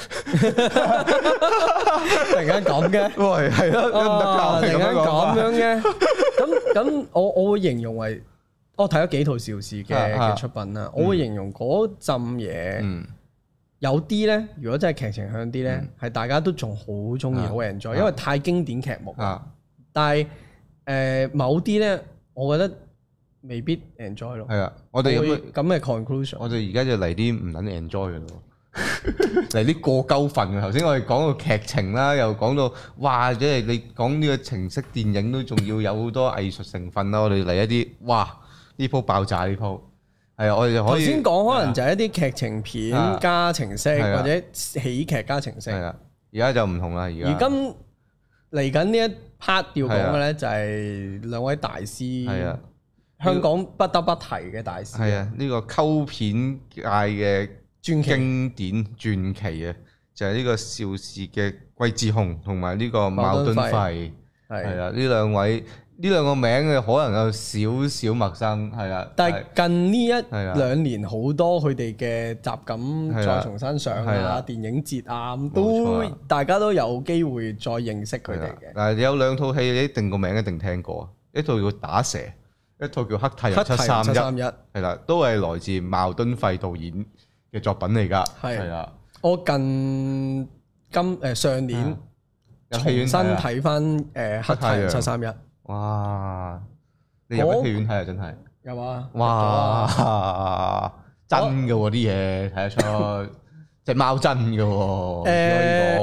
突然間咁嘅， 喂，係咯， 突然間咁樣嘅，咁咁我我會形容為我睇咗幾套邵氏嘅嘅出品啦，我會形容嗰陣嘢，有啲咧，如果真係劇情向啲咧，係大家都仲好中意，好 enjoy，因為太經典劇目啊。但係誒某啲咧。我覺得未必 enjoy 咯。係啊， 我哋咁咁嘅 conclusion。 我哋而家就嚟啲唔撚 enjoy 嘅咯，嚟啲過鳩份嘅。頭先我哋講個劇情啦，又講到哇，即係你講呢個情色電影都仲要有好多藝術成分啦。我哋嚟一啲哇，呢鋪爆炸呢鋪。係啊，我哋就可以頭先講可能就係一啲劇情片加情色，或者喜劇加情色。係啊， 而家就唔同啦。而家而今嚟緊呢一 part 要講嘅咧就係兩位大師，係啊，香港不得不提嘅大師， 係啊，呢個溝片界嘅經典傳奇啊，就係呢個邵氏嘅桂志雄同埋呢個茅敦費，係啊，呢兩位呢兩個名嘅可能有少少陌生，係啊， 但係近呢一兩年好多佢哋嘅集錦再重新上啊，電影節啊，咁都大家都有機會再認識佢哋嘅。 嗱，有兩套戲你一定個名一定聽過啊，一套叫打蛇，一套叫黑太陽七三一，係啦，都係來自茅敦費導演嘅作品嚟㗎，係啊。 我近今誒上年重新睇翻誒黑太陽七三一。 哇！你入咗戲院睇啊，真係有啊！ 哇！真嘅喎啲嘢睇得出，隻貓真嘅喎。誒，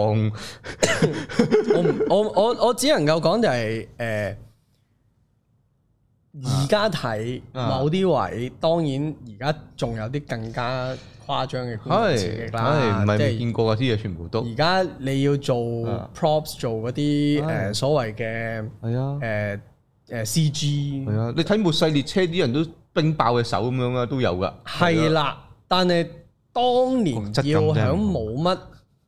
我我我我只能夠講就係誒而家睇某啲位，當然而家仲有啲更加誇張嘅觀眾刺激啦， 唔係未見過嗰啲嘢全部都。 而家你要做 props 做嗰啲誒所謂嘅係啊誒誒 C G 係啊，你睇末世列車啲人都冰爆嘅手咁樣啊，都有㗎。 係啦，但係當年要喺冇乜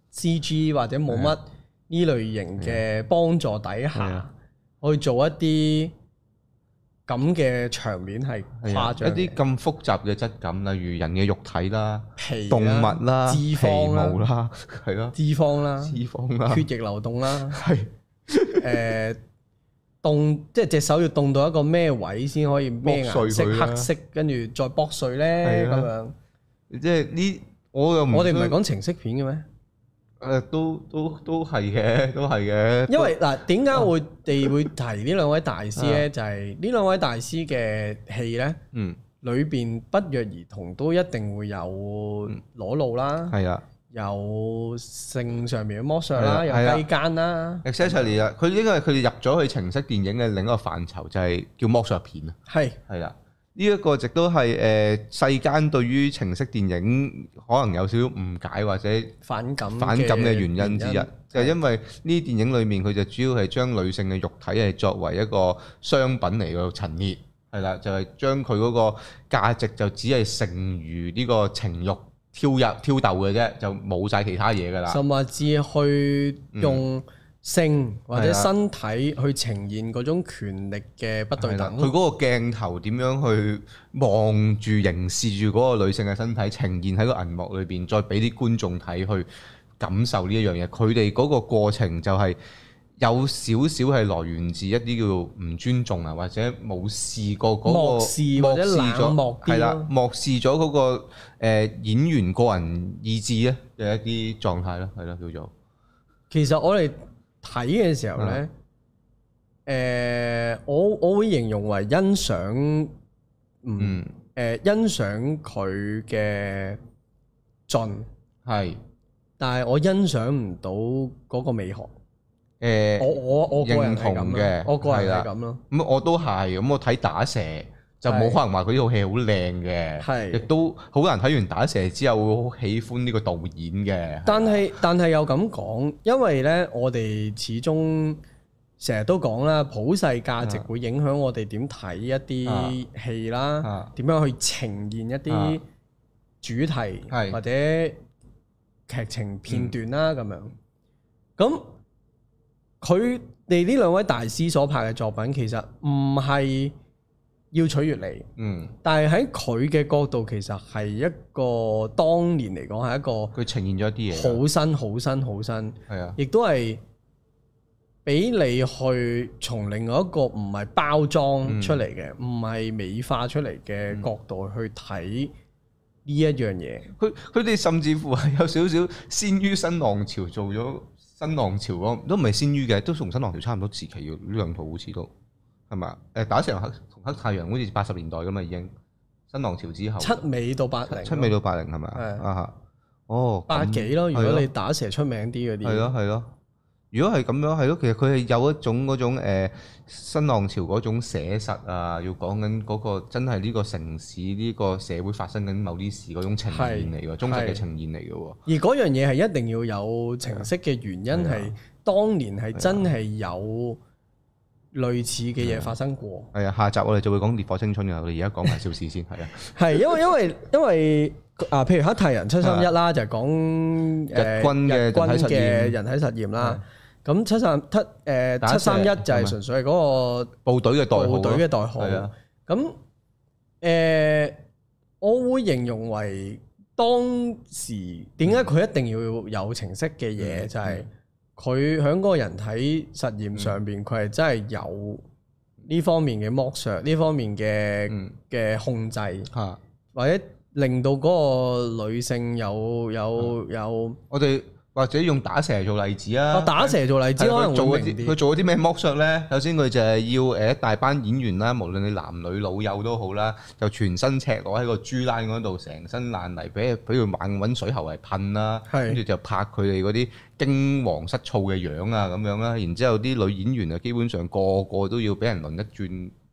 C G 或者冇乜呢類型嘅幫助底下去做一啲咁嘅場面係誇張， 一啲咁複雜嘅質感，例如人嘅肉體啦、 皮動物啦、 脂肪啦，係咯， 脂肪啦、 脂肪啦、 血液流動啦， 係誒凍，即係隻手要凍到一個咩位先可以咩顏色黑色，跟住再剝碎咧咁樣。 即係呢，我又我哋唔係講情色片嘅咩？ 誒都都都係嘅，都係嘅。 因為嗱，點解我哋會提呢兩位大師咧？就係呢兩位大師嘅戲咧，嗯，裏邊不約而同都一定會有裸露啦，係啊，有性上面嘅剝削啦，有雞姦啦。 Exactly 啊，佢應該係佢哋入咗去情色電影嘅另一個範疇，就係叫剝削片啊。係係啦。呢一個亦都係誒世間對於情色電影可能有少少誤解或者反感反感嘅原因之一，就係因為呢啲電影裏面佢就主要係將女性嘅肉體係作為一個商品嚟嘅陳列，係啦，就係將佢嗰個價值就只係剩餘呢個情慾挑入挑逗嘅啫，就冇晒其他嘢㗎啦。 甚至去用性或者身體去呈現嗰種權力嘅不對等， 佢嗰個鏡頭點樣去望住凝視住嗰個女性嘅身體呈現喺個銀幕裏邊，再俾啲觀眾睇去感受呢一樣嘢。佢哋嗰個過程就係有少少係來源自一啲叫唔尊重啊，或者冇試過嗰個漠視或者冷漠啲咯， 漠視咗嗰個誒演員個人意志咧嘅一啲狀態咯，係咯，叫做。 其實我哋睇嘅時候咧，誒、嗯呃，我我會形容為欣賞，嗯，誒、呃，欣賞佢嘅盡係，是但係我欣賞唔到嗰個美學。誒、呃，我我我個人係咁嘅，我個人係咁咯。 咁我都係，咁我睇打蛇就冇可能話佢呢套戲好靚嘅，係亦都好多人睇完打蛇之後會好喜歡呢個導演嘅。 但係但係又咁講，因為咧我哋始終成日都講啦，普世價值會影響我哋點睇一啲戲啦，點樣去呈現一啲主題或者劇情片段啦咁樣。咁佢哋呢兩位大師所拍嘅作品，其實唔係要取悅你，嗯，但係喺佢嘅角度，其實係一個當年嚟講係一個佢呈現咗一啲嘢， 好新、好新、好新，係啊，亦都係俾你去從另外一個唔係包裝出嚟嘅，唔係、嗯、美化出嚟嘅角度去睇呢一樣嘢。 佢佢哋甚至乎係有少少先於新浪潮做咗新浪潮咯，都唔係先於嘅，都同新浪潮差唔多時期嘅呢兩套好似都係嘛？誒打成黑。黑太陽好似八十年代咁嘛，已經新浪潮之後， 七尾到八零， 七尾到八零係咪啊？啊，哦， 八幾咯。如果你打蛇出名啲嗰啲， 係咯係咯。如果係咁樣，係咯，其實佢係有一種嗰種誒新浪潮嗰種寫實啊，要講緊嗰個真係呢個城市呢個社會發生緊某啲事嗰種呈現嚟㗎，忠實嘅呈現嚟㗎喎。 而嗰樣嘢係一定要有情色嘅原因係，當年係真係有類似嘅嘢發生過。係啊，下集我哋就會講《烈火青春》嘅，我哋而家講埋邵氏先。係啊， 係因為因為因為啊，譬如黑太陽七三一啦，就係講誒日軍嘅日軍嘅人體實驗啦。咁七三七誒七三一就係純粹係嗰個部隊嘅代號。 部隊嘅代號。咁誒，我會形容為當時點解佢一定要有情色嘅嘢，就係佢喺嗰個人體實驗上邊，佢係真係有呢方面嘅剝削，呢方面嘅嘅控制，或者令到嗰個女性有有有。 我哋或者用打蛇做例子啊！ 打蛇做例子，可能做嗰啲佢做嗰啲咩剝削咧？首先佢就係要誒一大班演員啦，無論你男女老幼都好啦，就全身赤裸喺個豬欄嗰度，成身爛泥，俾俾佢猛揾水喉嚟噴啦，跟住就拍佢哋嗰啲驚惶失措嘅樣啊咁樣啦。然之後啲女演員啊，基本上個個都要俾人輪一轉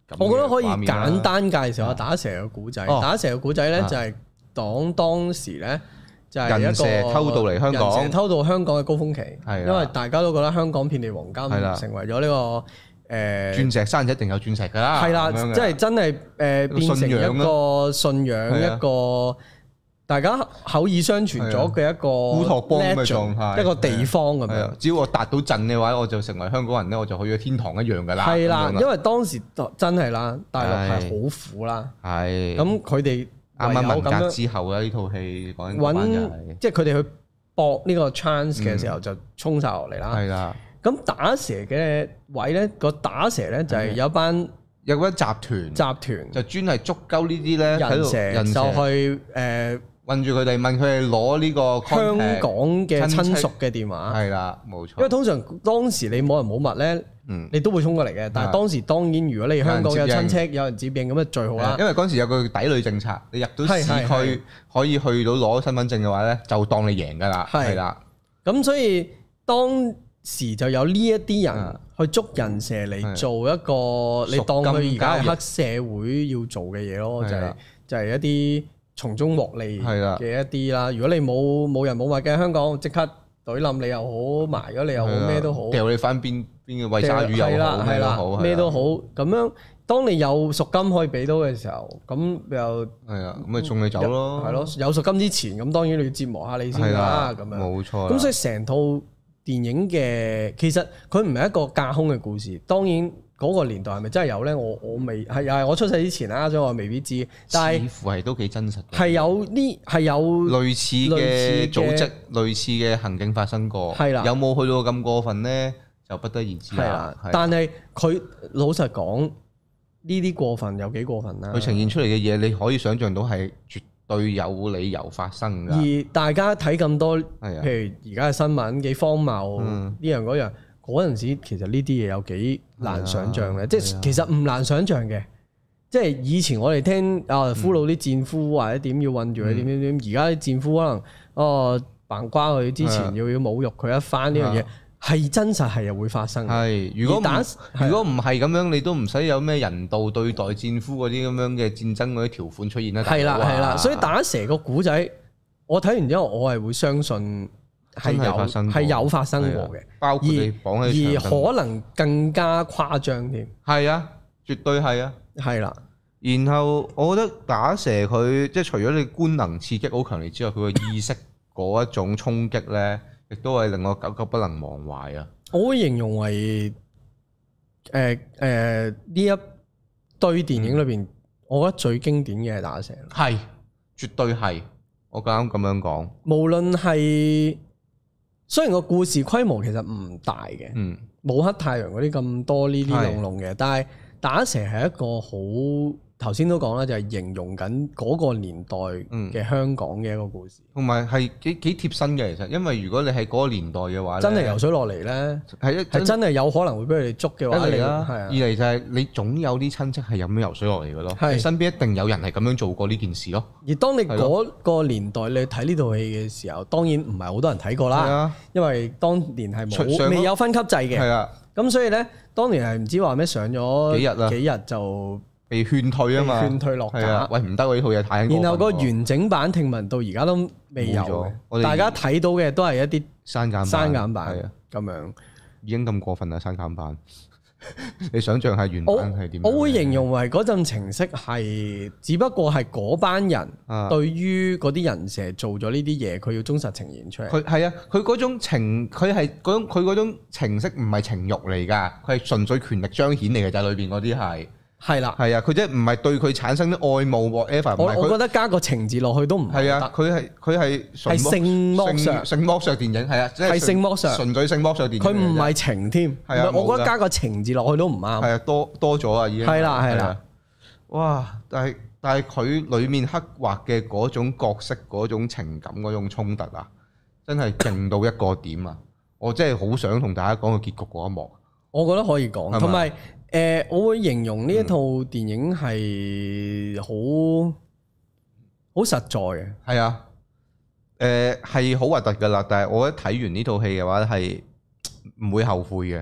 我覺得可以簡單介紹下打蛇嘅古仔。哦、打蛇嘅古仔咧就係講當時咧就係一個人蛇偷渡嚟香港， 人蛇偷渡香港嘅高峰期。 係， 因為大家都覺得香港遍地黃金，成為咗呢個。誒鑽石山一定有鑽石㗎啦， 係啦，即係真係誒變成一個信仰，一個大家口耳相傳咗嘅一個烏托邦嘅狀態， 一個地方咁樣。 只要我達到陣嘅話，我就成為香港人咧，我就去咗天堂一樣㗎啦。 係啦，因為當時真係啦，大陸係好苦啦。係。咁佢哋啱啱文革之後咧，呢套戲講緊揾， 即係佢哋去搏呢個 chance 嘅時候，就衝晒落嚟啦。係啦。咁打蛇嘅位咧，個打蛇咧就係有班有嗰集團，集團就專係捉鳩呢啲咧人蛇，人蛇就去誒困住佢哋，問佢哋攞呢個香港嘅親屬嘅電話。 係啦，冇錯。 因為通常當時你冇人冇物咧，嗯，你都會衝過嚟嘅。但係當時當然，如果你香港有親戚有人接應，咁就最好啦。 因為嗰陣時有個抵壘政策，你入到市區可以去到攞身份證嘅話咧，就當你贏㗎啦。係啦，咁所以當時就有呢一啲人去捉人蛇嚟做一個，你當佢而家係黑社會要做嘅嘢咯，就係就係一啲從中獲利嘅一啲啦。如果你冇冇人冇物嘅香港，即刻懟冧你又好，埋咗你又好，咩都好， 掉你翻邊邊嘅餵鯊魚又好，咩都好， 咩都好。咁樣當你有贖金可以俾到嘅時候，咁又係啊，咁咪送你走咯。 係咯，有贖金之前，咁當然你要折磨下你先啦。咁樣冇錯。 咁所以成套電影嘅其實佢唔係一個架空嘅故事，當然嗰個年代係咪真係有咧？我我未係又係我出世之前啦，所以我未必知。但係似乎係都幾真實嘅。 係有呢係有類似嘅組織、類似嘅行徑發生過。係啦，有冇去到咁過分咧？就不得而知啦。 但係佢老實講，呢啲過分有幾過分啦？ 佢呈現出嚟嘅嘢，你可以想像到係絕對有理由發生㗎。 而大家睇咁多，譬如而家嘅新聞幾荒謬，呢樣嗰樣，嗰陣時其實呢啲嘢有幾難想像嘅，即係其實唔難想像嘅。即係以前我哋聽啊俘虜啲戰俘或者點要韞住佢點點點，而家啲戰俘可能哦扮瓜佢之前要要侮辱佢一番呢樣嘢。係真實係又會發生嘅。係，如果打如果唔係咁樣，你都唔使有咩人道對待戰俘嗰啲咁樣嘅戰爭嗰啲條款出現啦。 係啦係啦，所以打蛇個古仔，我睇完之後，我係會相信係有係有發生過嘅， 包括你綁喺而可能更加誇張添。 係啊，絕對係啊。 係啦， 然後我覺得打蛇佢即係除咗你官能刺激好強烈之外，佢個意識嗰一種衝擊咧。亦都係令我久久不能忘懷啊！ 我會形容為誒誒呢一堆電影裏邊，嗯、我覺得最經典嘅係打蛇。 係，絕對係。我啱啱咁樣講。 無論係雖然個故事規模其實唔大嘅，嗯，冇黑太陽嗰啲咁多呢啲籠籠嘅，是但係打蛇係一個好。頭先都講啦，就係形容緊嗰個年代嘅香港嘅一個故事， 同埋係幾幾貼身嘅。其實，因為如果你喺嗰個年代嘅話， 真係游水落嚟咧，係一係真係有可能會俾佢哋捉嘅話， 一嚟啦，二嚟就係你總有啲親戚係咁樣游水落嚟嘅咯，係身邊一定有人係咁樣做過呢件事咯。 而當你嗰個年代你睇呢套戲嘅時候，當然唔係好多人睇過啦，因為當年係冇未有分級制嘅，係啊，咁所以咧，當年係唔知話咩上咗幾日啦，幾日就。 被勸退啊嘛， 勸退落架。 喂，唔得喎，呢套嘢太過分。 然後個完整版聽聞到而家都未有，大家睇到嘅都係一啲刪減刪減版咁樣。 已經咁過分啦，刪減版。你想象下原版係點？ 我會形容為嗰陣情色係，只不過係嗰班人對於嗰啲人蛇做咗呢啲嘢，佢要忠實呈現出嚟。 佢係啊，佢嗰種情，佢係嗰種佢嗰種情色唔係情慾嚟㗎，佢係純粹權力彰顯嚟嘅，就係裏邊嗰啲係。係啦，係啊，佢即係唔係對佢產生啲愛慕 whatever。 我我覺得加個情字落去都唔係啊，佢係佢係係性剝削， 性剝削電影係啊，即係性剝削， 純粹性剝削電影。 佢唔係情添，係啊，我覺得加個情字落去都唔啱。 係啊，多多咗啊，已經。 係啦，係啦。 哇！但係但係佢裡面刻畫嘅嗰種角色、嗰種情感、嗰種衝突啊，真係勁到一個點啊！我真係好想同大家講個結局嗰一幕。 我覺得可以講，同埋。誒、呃，我會形容呢一套電影係好好實在嘅。 係啊，誒係好核突㗎喇，但係我覺得睇完呢套戲嘅話係唔會後悔嘅。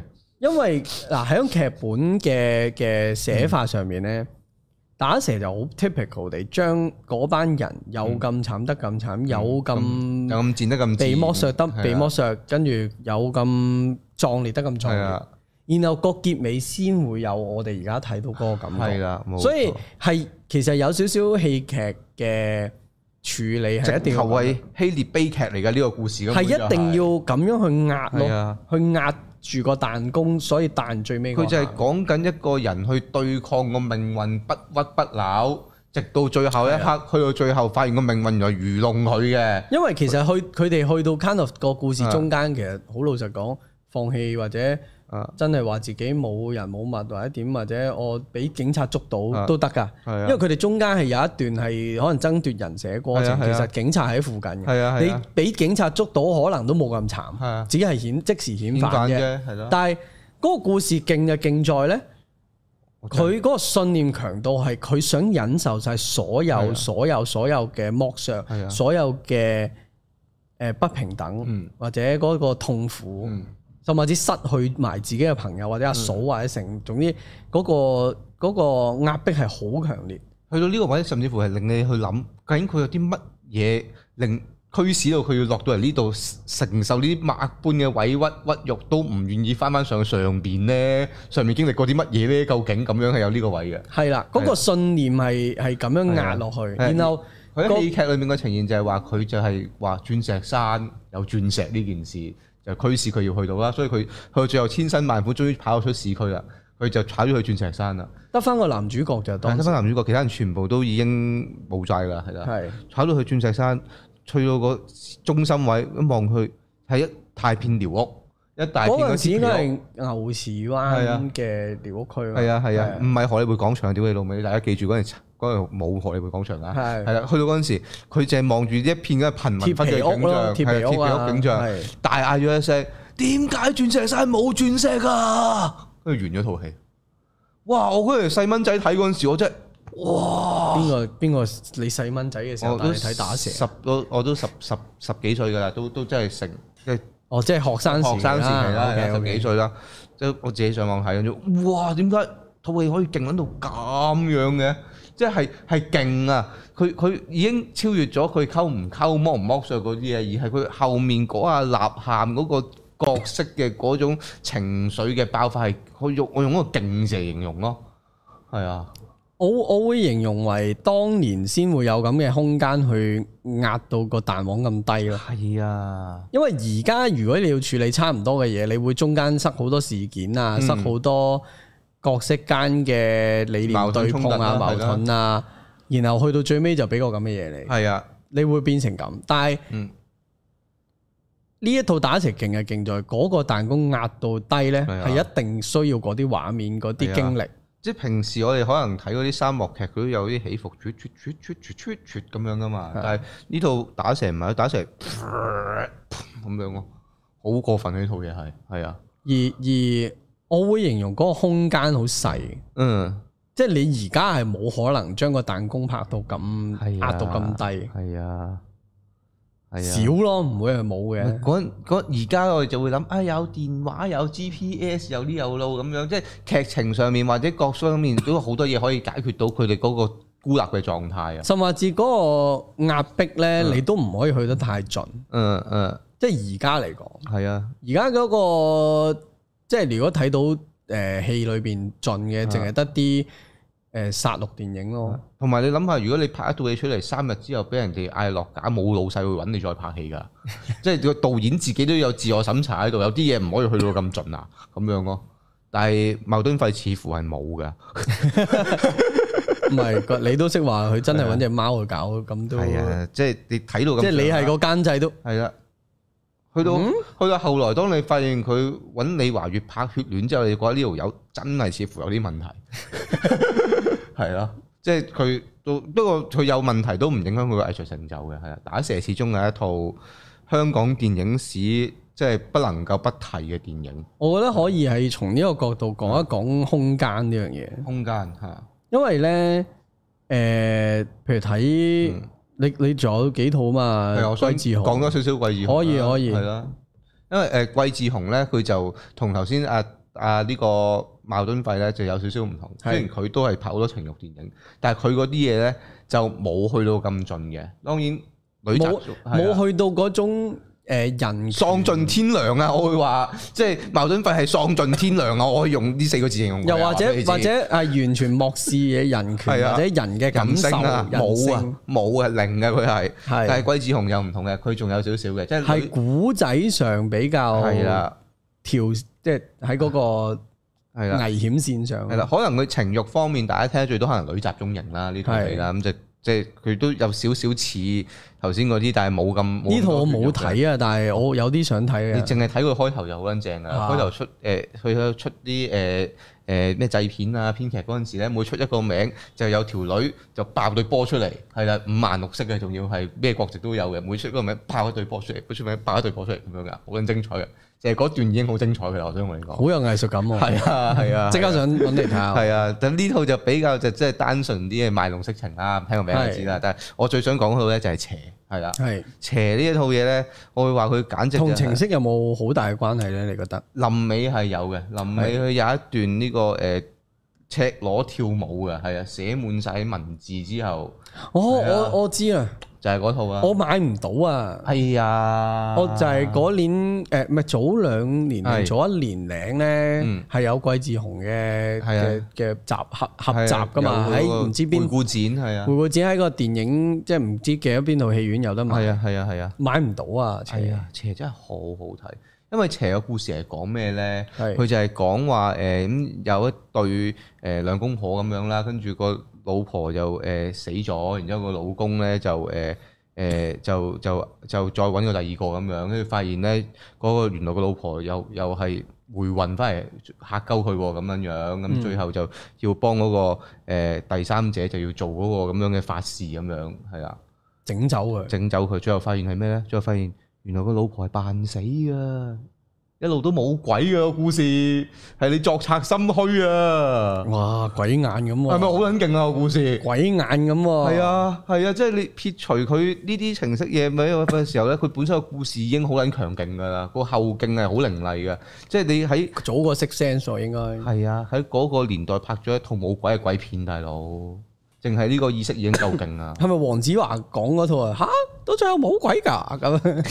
因為嗱喺劇本嘅嘅寫法上面咧，嗯、打蛇就好 typical 地將嗰班人有咁慘得咁慘，嗯、有咁有咁賤得咁賤， 被剝削得被剝削，跟住有咁壯烈得咁壯烈。然後個結尾先會有我哋而家睇到嗰個感覺，係啦，所以係其實有少少戲劇嘅處理係一定要係希臘悲劇嚟嘅呢個故事， 係一定要咁樣去壓咯，去壓住個彈弓，所以彈最尾。佢就係講緊一個人去對抗個命運，不屈不撓，直到最後一刻，去到最後發現個命運原來愚弄佢嘅。 因為其實去佢哋去到 kind of 個故事中間，其實好老實講，放棄或者。真係話自己冇人冇物或者點，或者我俾警察捉到都得㗎，因為佢哋中間係有一段係可能爭奪人蛇嘅過程，其實警察喺附近嘅，你俾警察捉到可能都冇咁慘，只係顯即時顯反啫。但係嗰個故事勁就勁在呢，佢嗰個信念強度係佢想忍受晒所有所有所有嘅剝削，所有嘅誒不平等或者嗰個痛苦。甚至失去埋自己嘅朋友或者阿嫂或者成，總之嗰個嗰個壓迫係好強烈。 去到呢個位，甚至乎係令你去諗，究竟佢有啲乜嘢令驅使到佢要落到嚟呢度承受呢啲萬般嘅委屈屈辱，都唔願意翻翻上上邊咧？上面經歷過啲乜嘢咧？究竟咁樣係有呢個位嘅？係啦， 嗰個信念係係咁樣壓落去，然後佢喺戲劇裏面嘅呈現就係話佢就係話鑽石山有鑽石呢件事。就驅使佢要去到啦，所以佢去到最後千辛萬苦，終於跑咗出市區啦。佢就跑咗去鑽石山啦。 得翻個男主角就當。 得翻男主角，其他人全部都已經冇晒啦，係啦。係。跑到去鑽石山，去到個中心位一望去，係一大片寮屋，一大片嗰啲寮屋。嗰陣時應該係牛池灣嘅寮屋區。 係啊係啊，唔係荷里活廣場，屌你老味！大家記住嗰陣時。嗰度冇荷里活廣場啊，係係啦，去到嗰陣時，佢淨係望住一片嘅貧民窟嘅景象，係鐵皮屋景象，大嗌咗一聲：點解鑽石山冇鑽石啊？跟住完咗套戲。哇！我嗰陣細蚊仔睇嗰陣時，我真係哇！ 邊個邊個？你細蚊仔嘅時候帶你睇打蛇？ 十都我都十十十幾歲㗎啦，都都真係成即係哦，即係學生學生時期啦，十幾歲啦，即係我自己上網睇咗，哇！點解套戲可以勁撚到咁樣嘅？即係係勁啊！佢佢已經超越咗佢溝唔溝剝唔剝削嗰啲嘢，而係佢後面嗰下吶喊嗰個角色嘅嗰種情緒嘅爆發係，我用我用一個勁字形容咯。係啊， 我我會形容為當年先會有咁嘅空間去壓到個彈簧咁低咯。 係啊， 因為而家如果你要處理差唔多嘅嘢，你會中間塞好多事件啊，嗯、塞好多。角色間嘅理念對碰啊、矛盾啊，然後去到最尾就俾個咁嘅嘢你。係啊，你會變成咁。但係呢一套打蛇勁係勁在嗰個彈弓壓到低咧，係一定需要嗰啲畫面、嗰啲經歷。 即係平時我哋可能睇嗰啲沙漠劇，佢都有啲起伏，啜啜啜啜啜啜咁樣噶嘛。但係呢套打蛇唔係，打蛇咁樣咯，好過分呢套嘢係係啊。 而而我會形容嗰個空間好細，嗯，即係你而家係冇可能將個彈弓拍到咁壓到咁低， 係啊，係啊， 少咯，唔會係冇嘅。 嗰嗰而家我哋就會諗，啊有電話有 G P S 有呢有路咁樣，即係劇情上面或者各方面都有好多嘢可以解決到佢哋嗰個孤立嘅狀態啊。 甚至嗰個壓迫咧，嗯、你都唔可以去得太盡，嗯嗯，嗯即係而家嚟講，係啊，而家嗰個。即係如果睇到誒戲裏邊盡嘅，淨係得啲誒殺戮電影咯。 同埋你諗下，如果你拍一套戲出嚟，三日之後俾人哋嗌落架，冇老細會揾你再拍戲㗎。即係個導演自己都有自我審查喺度，有啲嘢唔可以去到咁盡啊，咁樣咯。但係牟敦芾似乎係冇㗎。 唔係，你都識話佢真係揾隻貓去搞，咁都係啊。即係你睇到咁， 即係你係個監製都係啦。去到、嗯、去到後來，當你發現佢揾李華月拍血戀之後，你覺得呢條友真係似乎有啲問題，係咯，即係佢都不過佢有問題都唔影響佢嘅藝術成就嘅，係啊。打蛇始終係一套香港電影史即係不能夠不提嘅電影。 我覺得可以係從呢個角度講一講空間呢樣嘢。 空間嚇， 因為咧誒、呃，譬如睇。嗯你你仲有幾套嘛？ 係我想季志雄講多少少季志雄。 可以可以。 係啦，因為誒季志雄咧，佢就同頭先阿啊呢個茅敦費咧就有少少唔同，雖然佢都係拍好多情慾電影，但係佢嗰啲嘢咧就冇去到咁盡嘅。當然女冇冇去到嗰種。誒，人喪盡天良啊！我會話，即係茅敦費係喪盡天良啊！我可以用呢四個字形容。 又或者或者係完全漠視嘅人權或者人嘅感受啊，冇啊冇啊零嘅佢係，但係桂志雄又唔同嘅，佢仲有少少嘅，即係係古仔上比較係啦，調即係喺嗰個係啦危險線上係啦，可能佢情慾方面大家聽得最多可能女集中營啦呢套戲啦，咁就即係佢都有少少似。頭先嗰啲，但係冇咁。呢套我冇睇啊，但係我有啲想睇啊。 你淨係睇佢開頭就好撚正啊！開頭出誒，佢喺出啲誒誒咩製片啊、編劇嗰陣時咧，每出一個名就有條女就爆對波出嚟，係啦，五顏六色嘅，仲要係咩國籍都有嘅。每出一個名爆一對波出嚟，每出名爆一對波出嚟咁樣噶，好撚精彩嘅。就係嗰段已經好精彩嘅，我想同你講。 好有藝術感喎！ 係啊係啊， 即刻想揾嚟睇下。 係啊，但呢套就比較就即係單純啲嘅賣弄色情啦，聽個名就知啦。但係我最想講嗰套咧就係邪。係啦，係邪呢一套嘢咧，我會話佢簡直同情色有冇好大嘅關係咧？你覺得？ 臨尾係有嘅，臨尾佢有一段呢個誒赤裸跳舞嘅，係啊，寫滿晒文字之後， 哦，我我知啦。 就係嗰套啊！ 我買唔到啊！ 係啊！ 我就係嗰年誒，唔係早兩年定早一年零咧，係有桂志雄嘅嘅嘅集合合集噶嘛？喺唔知邊回顧展係啊！ 回顧展喺個電影即係唔知記得邊套戲院有得買。 係啊係啊係啊！ 買唔到啊！ 係啊！邪真係好好睇，因為邪嘅故事係講咩咧？佢就係講話誒咁有一對誒兩公婆咁樣啦，跟住個老婆就誒死咗，然之後個老公咧就誒誒就就就再揾個第二個咁樣，跟住發現咧嗰個原來個老婆又又係回魂翻嚟嚇鳩佢喎咁樣樣，咁最後就要幫嗰個誒第三者就要做嗰個咁樣嘅法事咁樣，係啊， 整走佢， 整走佢，最後發現係咩咧？最後發現原來個老婆係扮死㗎。一路都冇鬼嘅個故事，係你作賊心虛啊！ 哇，鬼眼咁喎， 係咪好撚勁啊個故事？ 鬼眼咁喎， 係啊係啊，即係你撇除佢呢啲情色嘢咪嘅時候咧，佢本身個故事已經好撚強勁噶啦，個後勁係好凌厲嘅，即係你喺早過 Sixth Sense 應該係啊，喺嗰個年代拍咗一套冇鬼嘅鬼片，大佬，淨係呢個意識已經夠勁啦。 係咪黃子華講嗰套啊？吓，到最後冇鬼㗎咁。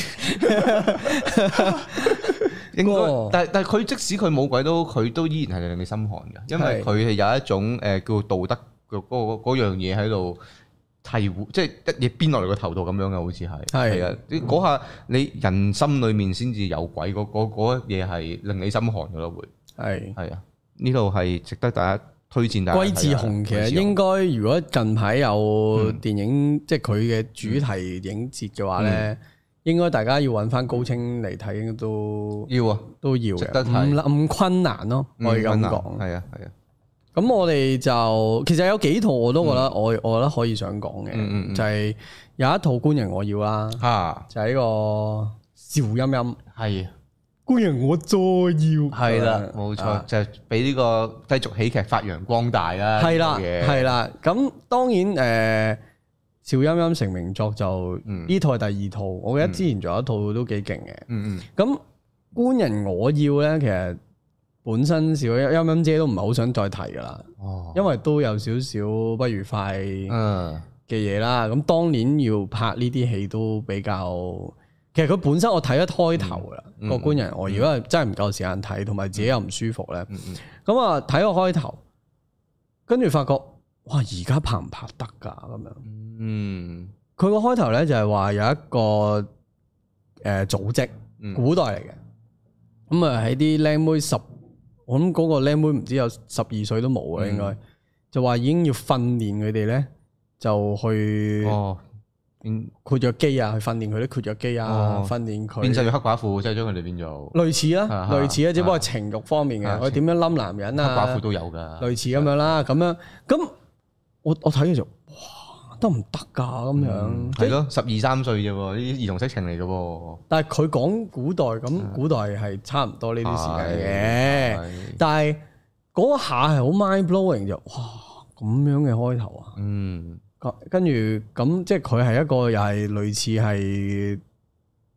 應該，但係但係佢即使佢冇鬼都，佢都依然係令你心寒嘅，因為佢係有一種誒叫道德嘅嗰嗰樣嘢喺度提護，即係一嘢鞭落嚟個頭度咁樣嘅，好似係係啊！嗰下你人心裏面先至有鬼，嗰嗰嗰嘢係令你心寒嘅咯，會係係啊！呢度係值得大家推薦大家。桂志雄其實應該如果近排有電影，嗯、即係佢嘅主題影節嘅話咧。嗯應該大家要揾翻高清嚟睇都要啊， 都要值得睇， 唔咁困難咯，可以咁講。 係啊係啊。 咁我哋就其實有幾套我都覺得我我覺得可以想講嘅，就係有一套官人我要啦，啊，就係呢個邵音音。係官人我再要。係啦，冇錯，就係俾呢個低俗喜劇發揚光大啦。係啦，係啦。咁當然誒。邵音音成名作就呢、嗯、套係第二套，我記得之前仲有一套都幾勁嘅。嗯嗯。咁官人我要咧，其實本身邵音音姐都唔係好想再提噶啦。哦。因為都有少少不愉快嘅嘢啦。咁、嗯、當年要拍呢啲戲都比較，其實佢本身我睇一開頭噶啦個官人我要，如果係真係唔夠時間睇，同埋自己又唔舒服咧。咁啊睇個開頭，跟住發覺哇，而家拍唔拍得噶咁樣？嗯，佢個開頭咧就係話有一個誒組織，古代嚟嘅，咁啊喺啲靚妹十，我諗嗰個靚妹唔知有十二歲都冇啊，應該就話已經要訓練佢哋咧，就去哦，括約肌啊，去訓練佢啲括約肌啊，訓練佢變成咗黑寡婦，即係將佢哋變做類似啦，類似啊，只不過情慾方面嘅，我點樣冧男人啊，黑寡婦都有噶，類似咁樣啦，咁樣咁我我睇嘅時候。得唔得噶咁樣？係咯，十二三歲啫喎，呢啲兒童色情嚟嘅喎。但係佢講古代咁，古代係差唔多呢啲時間嘅。但係嗰下係好 mind blowing 就，哇咁樣嘅開頭啊！嗯，跟住咁即係佢係一個又係類似係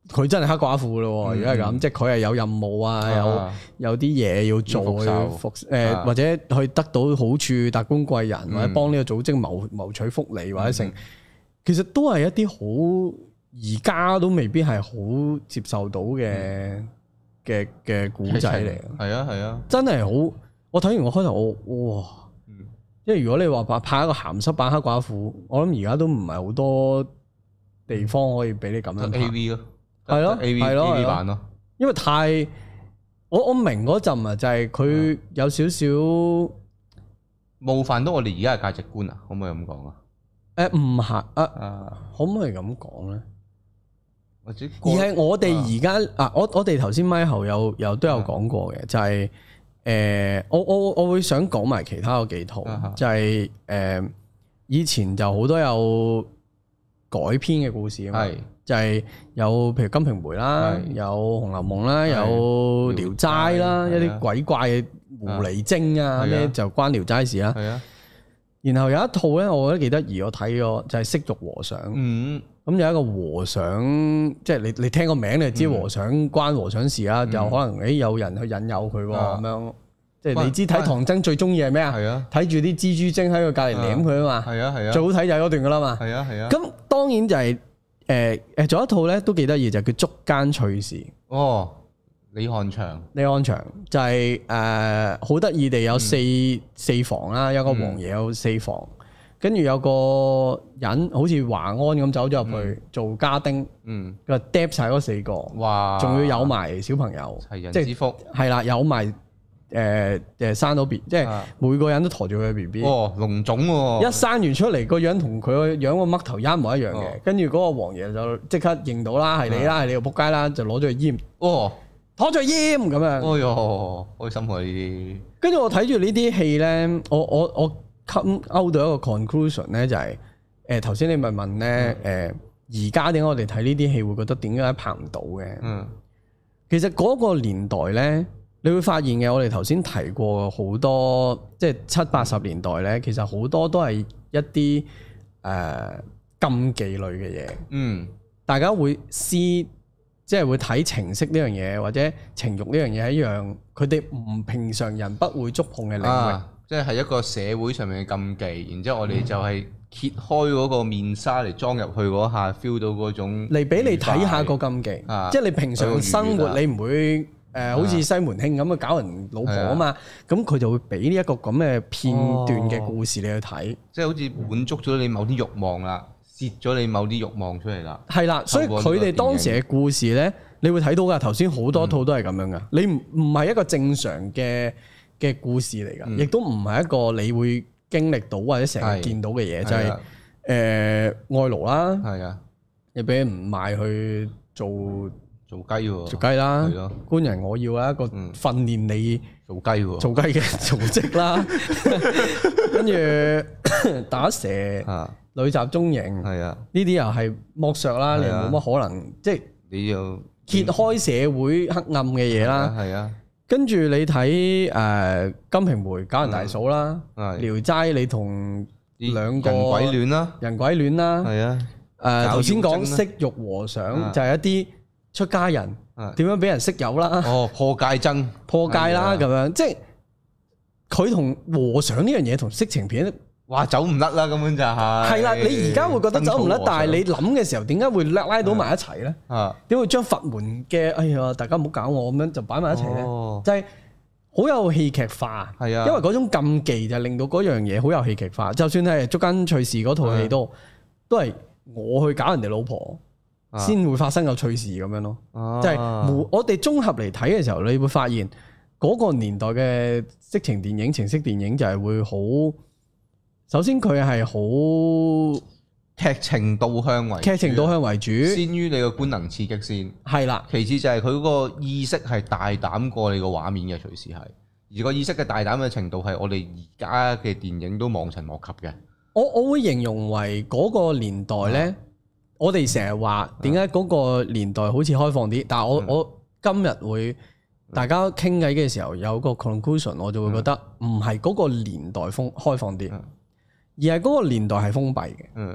佢真係黑寡婦咯。如果係咁，即係佢係有任務啊，有有啲嘢要做，復誒或者去得到好處，達官貴人或者幫呢個組織謀謀取福利或者成，其實都係一啲好而家都未必係好接受到嘅嘅嘅古仔嚟。 係啊係啊， 真係好。我睇完我開頭我哇，因為如果你話拍拍一個鹹濕版黑寡婦，我諗而家都唔係好多地方可以俾你咁樣拍。A V 咯，係咯係咯 A V 版咯，因為太我我明嗰陣啊，就係佢有少少冒犯到我哋而家嘅價值觀啊，可唔可以咁講啊？ 誒唔係啊，可唔可以咁講咧？或者而係我哋而家啊，我我哋頭先咪後有有都有講過嘅，就係。誒、呃，我我我會想講埋其他嗰幾套，啊、哈就係、是、誒、呃、以前就好多有改編嘅故事啊嘛，是就係有譬如《金瓶梅》啦，是有《紅樓夢》啦，是有《聊齋》啦，一啲鬼怪嘅狐狸精啊咩就關《聊齋》事啦。啊、然後有一套咧，我覺得幾得意，我睇咗就係、是《色欲和尚》。嗯。咁有一個和尚，即係你你聽個名你就知和尚關和尚事啦，就可能誒有人去引誘佢喎咁樣，即係你知睇唐僧最中意係咩啊？係啊，睇住啲蜘蛛精喺佢隔離舐佢啊嘛。係啊係啊，最好睇就係嗰段噶啦嘛。係啊係啊。咁當然就係誒誒，仲有一套咧都幾得意，就叫《捉奸趣事》。哦，李漢祥。李漢祥就係誒好得意地有四四房啦，有個王爺有四房。跟住有個人好似華安咁走咗入去做家丁，佢話嗒曬嗰四個，哇！仲要有埋小朋友，齊人之福，係啦，有埋誒誒生到 B，即係每個人都馱住佢嘅 B B。哦，龍種喎！一生完出嚟個樣同佢個樣個嘜頭一模一樣嘅，跟住嗰個王爺就即刻認到啦，係你啦，係你個仆街啦，就攞咗去閹。哦，攞咗去閹咁樣。哎呦，開心喎呢啲！跟住我睇住呢啲戲咧，我我我。come out 到一個 conclusion 咧，就係誒頭先你咪問咧誒而家點解我哋睇呢啲戲會覺得點解拍唔到嘅？嗯，其實嗰個年代咧，你會發現嘅，我哋頭先提過好多，即係七八十年代咧，其實好多都係一啲誒、呃、禁忌類嘅嘢。嗯，大家會思即係會睇情色呢樣嘢，或者情慾呢樣嘢係一樣，佢哋唔平常人不會觸碰嘅領域。啊，即係一個社會上面嘅禁忌，然之後我哋就係揭開嗰個面紗嚟裝入去嗰下 feel 到嗰種嚟俾你睇下個禁忌，啊、即係你平常生活你唔會誒、呃、好似西門慶咁啊搞人老婆啊嘛，咁佢、啊、就會俾呢一個咁嘅片段嘅故事你去睇，即係好似滿足咗你某啲慾望啦，泄咗你某啲慾望出嚟啦。係啦，所以佢哋當時嘅故事咧，你會睇到噶，頭先好多套都係咁樣噶，嗯、你唔唔係一個正常嘅嘅故事嚟噶，亦都唔係一個你會經歷到或者成日見到嘅嘢，就係誒愛奴啦，係啊，你俾人賣去做做雞喎，做雞啦，係咯，官人我要啊一個訓練你做雞喎，做雞嘅組織啦，跟住打蛇、女襲中營，係啊，呢啲又係剝削啦，你冇乜可能，即係你要揭開社會黑暗嘅嘢啦，係啊。跟住你睇誒《金瓶梅》搞人大嫂啦，《聊齋》你同兩個人鬼戀啦，人鬼戀啦，係啊，誒頭先講色欲和尚就係一啲出家人點樣俾人色誘啦，哦破戒僧破戒啦咁樣，即係佢同和尚呢樣嘢同色情片。哇，走唔甩啦，根本就係。係啦，你而家會覺得走唔甩，但係你諗嘅時候，點解會拉拉到埋一齊咧？啊，點會將佛門嘅哎呀，大家唔好搞我咁樣就擺埋一齊咧？哦、就係好有戲劇化。係啊，因為嗰種禁忌就令到嗰樣嘢好有戲劇化。就算係《捉奸趣事》嗰套戲都都係我去搞人哋老婆先會發生個趣事咁樣咯。啊、就係我哋綜合嚟睇嘅時候，你會發現嗰個年代嘅色情電影、情色電影就係會好。首先佢係好劇情導向為劇情導向為主，先於你個官能刺激先係啦。其次就係佢嗰個意識係大膽過你個畫面嘅，隨時係而個意識嘅大膽嘅程度係我哋而家嘅電影都望塵莫及嘅。我我會形容為嗰個年代呢，啊、我哋成日話點解嗰個年代好似開放啲，但係我、嗯、我今日會大家傾偈嘅時候有個 conclusion，我就會覺得唔係嗰個年代封開放啲。嗯，而係嗰個年代係封閉嘅，嗯，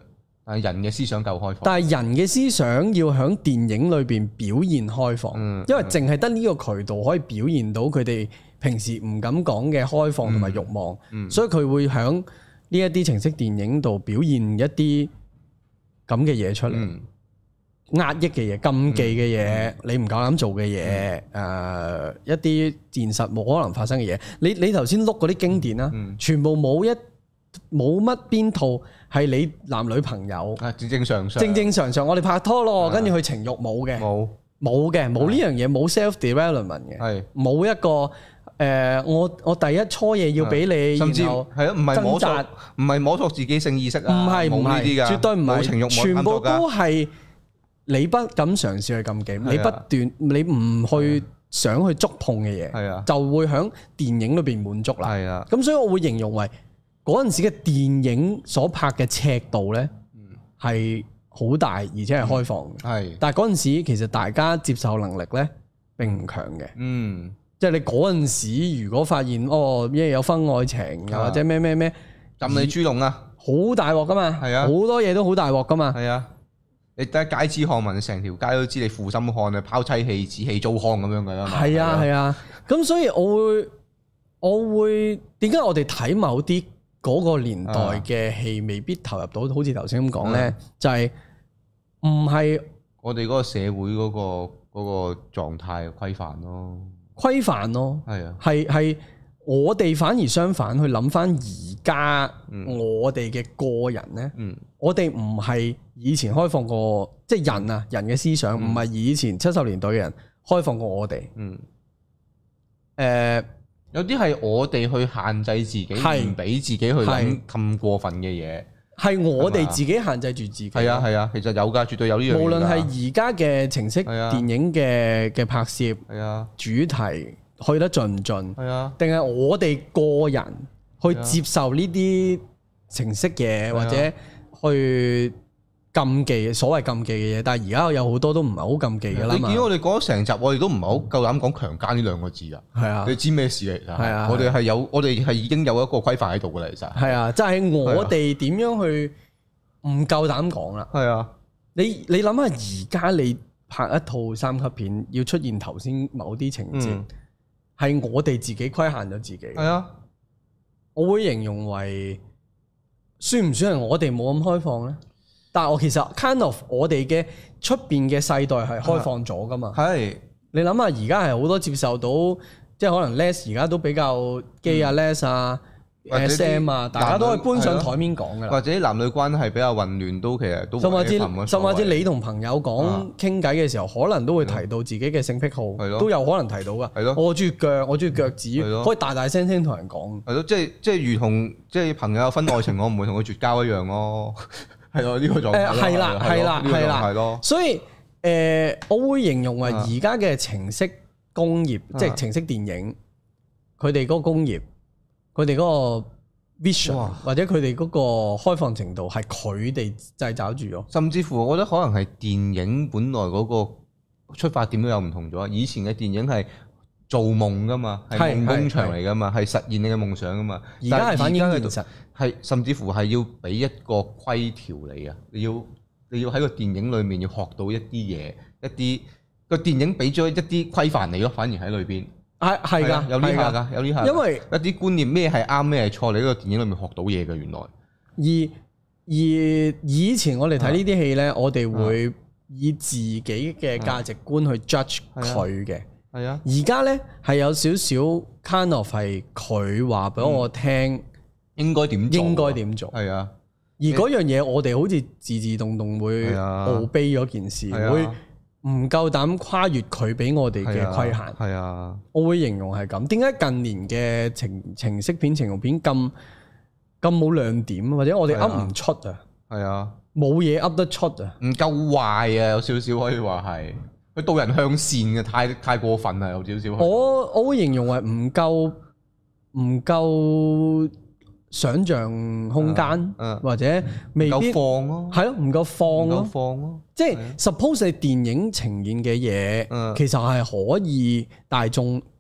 係人嘅思想夠開放， 但係人嘅思想要喺電影裏邊表現開放，嗯、因為淨係得呢個渠道可以表現到佢哋平時唔敢講嘅開放同埋慾望，嗯嗯、所以佢會喺呢一啲情色電影度表現一啲咁嘅嘢出嚟。嗯壓抑嘅嘢、禁忌嘅嘢、嗯、你唔夠膽做嘅嘢，誒、嗯呃、一啲現實冇可能發生嘅嘢。你你頭先碌嗰啲經典啦，嗯、全部冇一冇乜邊套係你男女朋友正正常常正正常常我哋拍拖咯，跟住去情慾冇嘅，冇冇嘅，冇呢樣嘢，冇 self development 嘅，係冇一個誒、呃、我我第一初嘢要俾你， 甚至係啊，唔係摸索，唔係摸索自己性意識啊， 唔係唔係，絕對唔係情慾， 全部都係。你不敢嘗試去禁忌，你不斷你唔去想去觸碰嘅嘢，就會喺電影裏邊滿足啦。咁所以我會形容為嗰陣時嘅電影所拍嘅尺度呢係好大，而且係開放嘅。係，但係嗰陣時其實大家接受能力呢並唔強嘅。嗯，即係你嗰陣時如果發現哦，因為有婚外情又或者咩咩咩， 禁你豬籠啊， 好大鑊噶嘛。係啊，好多嘢都好大鑊噶嘛。 係啊。你得街知巷聞，成條街都知你負心漢啊，拋妻棄子棄糟糠咁樣噶啦嘛。係啊係啊，咁所以我會我會點解我哋睇某啲嗰個年代嘅戲未必投入到，好似頭先咁講咧，就係唔係我哋嗰個社會嗰個嗰個狀態規範咯， 規範咯，係啊，係係我哋反而相反去諗翻而家我哋嘅個人咧，嗯、我哋唔係以前開放過，即係人啊，人嘅思想唔係以前七十年代嘅人開放過我哋。嗯，誒、呃， 有啲係我哋去限制自己，唔俾自己去諗咁過分嘅嘢， 係我哋自己限制住自己。 係啊係啊，其實有噶，絕對有呢樣嘢。 無論係而家嘅情色電影嘅嘅拍攝，係啊，主題去得盡唔盡？係啊，定係我哋個人去接受呢啲情色嘢，或者去禁忌所謂禁忌嘅嘢，但係而家有好多都唔係好禁忌嘅啦。 你見我哋講咗成集，我哋都唔係好夠膽講強姦呢兩個字啊。係啊，你知咩事嚟㗎？係啊，我哋係有，我哋係已經有一個規範喺度㗎啦。其實係啊，就係我哋點樣去唔夠膽講啦。係啊，你你諗下，而家你拍一套三級片，要出現頭先某啲情節，係我哋自己規限咗自己。係啊，我會形容為算唔算係我哋冇咁開放咧？但係我其實 kind of 我哋嘅出邊嘅世代係開放咗噶嘛？係你諗下，而家係好多接受到，即係可能 les 而家都比較 gay 啊 les 啊 S M 啊，大家都係搬上台面講噶啦。 或者男女關係比較混亂，都其實都甚至甚至你同朋友講傾偈嘅時候，可能都會提到自己嘅性癖好，都有可能提到噶。係咯，我中意腳，我中意腳趾，可以大大聲聲同人講。係咯，即係即係如同即係朋友有婚外情，我唔會同佢絕交一樣咯。係咯，呢個狀態咯。 係啦，係啦，係啦，係咯。所以誒，我會形容為而家嘅情色工業，即係情色電影，佢哋嗰個工業，佢哋嗰個 vision 或者佢哋嗰個開放程度，係佢哋製造住咯。 甚至乎，我覺得可能係電影本來嗰個出發點都有唔同咗。以前嘅電影係做夢噶嘛，係夢工場嚟噶嘛，係實現你嘅夢想噶嘛。 而家係反映現實。 係，甚至乎係要俾一個規條你啊！你要你要喺個電影裏面要學到一啲嘢，一啲個電影俾咗一啲規範你咯，反而喺裏邊係係㗎， 有呢下㗎，有呢下。 因為一啲觀念咩係啱咩係錯，你喺個電影裏面學到嘢嘅原來。 而而以前我哋睇呢啲戲咧，啊、我哋會以自己嘅價值觀去 judge 佢嘅。係啊。而家咧係有少少 kind of 係佢話俾我聽。嗯應該點做？ 應該點做？係啊，而嗰樣嘢我哋好似自自動動會傲卑咗件事，啊、會唔夠膽跨越佢俾我哋嘅規限。係啊，啊我會形容係咁。點解近年嘅情情色片、情慾片咁咁冇亮點，或者我哋噏唔出啊？係啊，冇嘢噏得出啊， 唔夠壞啊，有少少可以話係佢導人向善嘅，太太過分啦，有少少。 我我會形容為唔夠唔夠。想像空間，啊啊、或者未必放咯， 係咯，唔夠放咯， 放咯， 即係 suppose 係電影呈現嘅嘢，啊、其實係可以大眾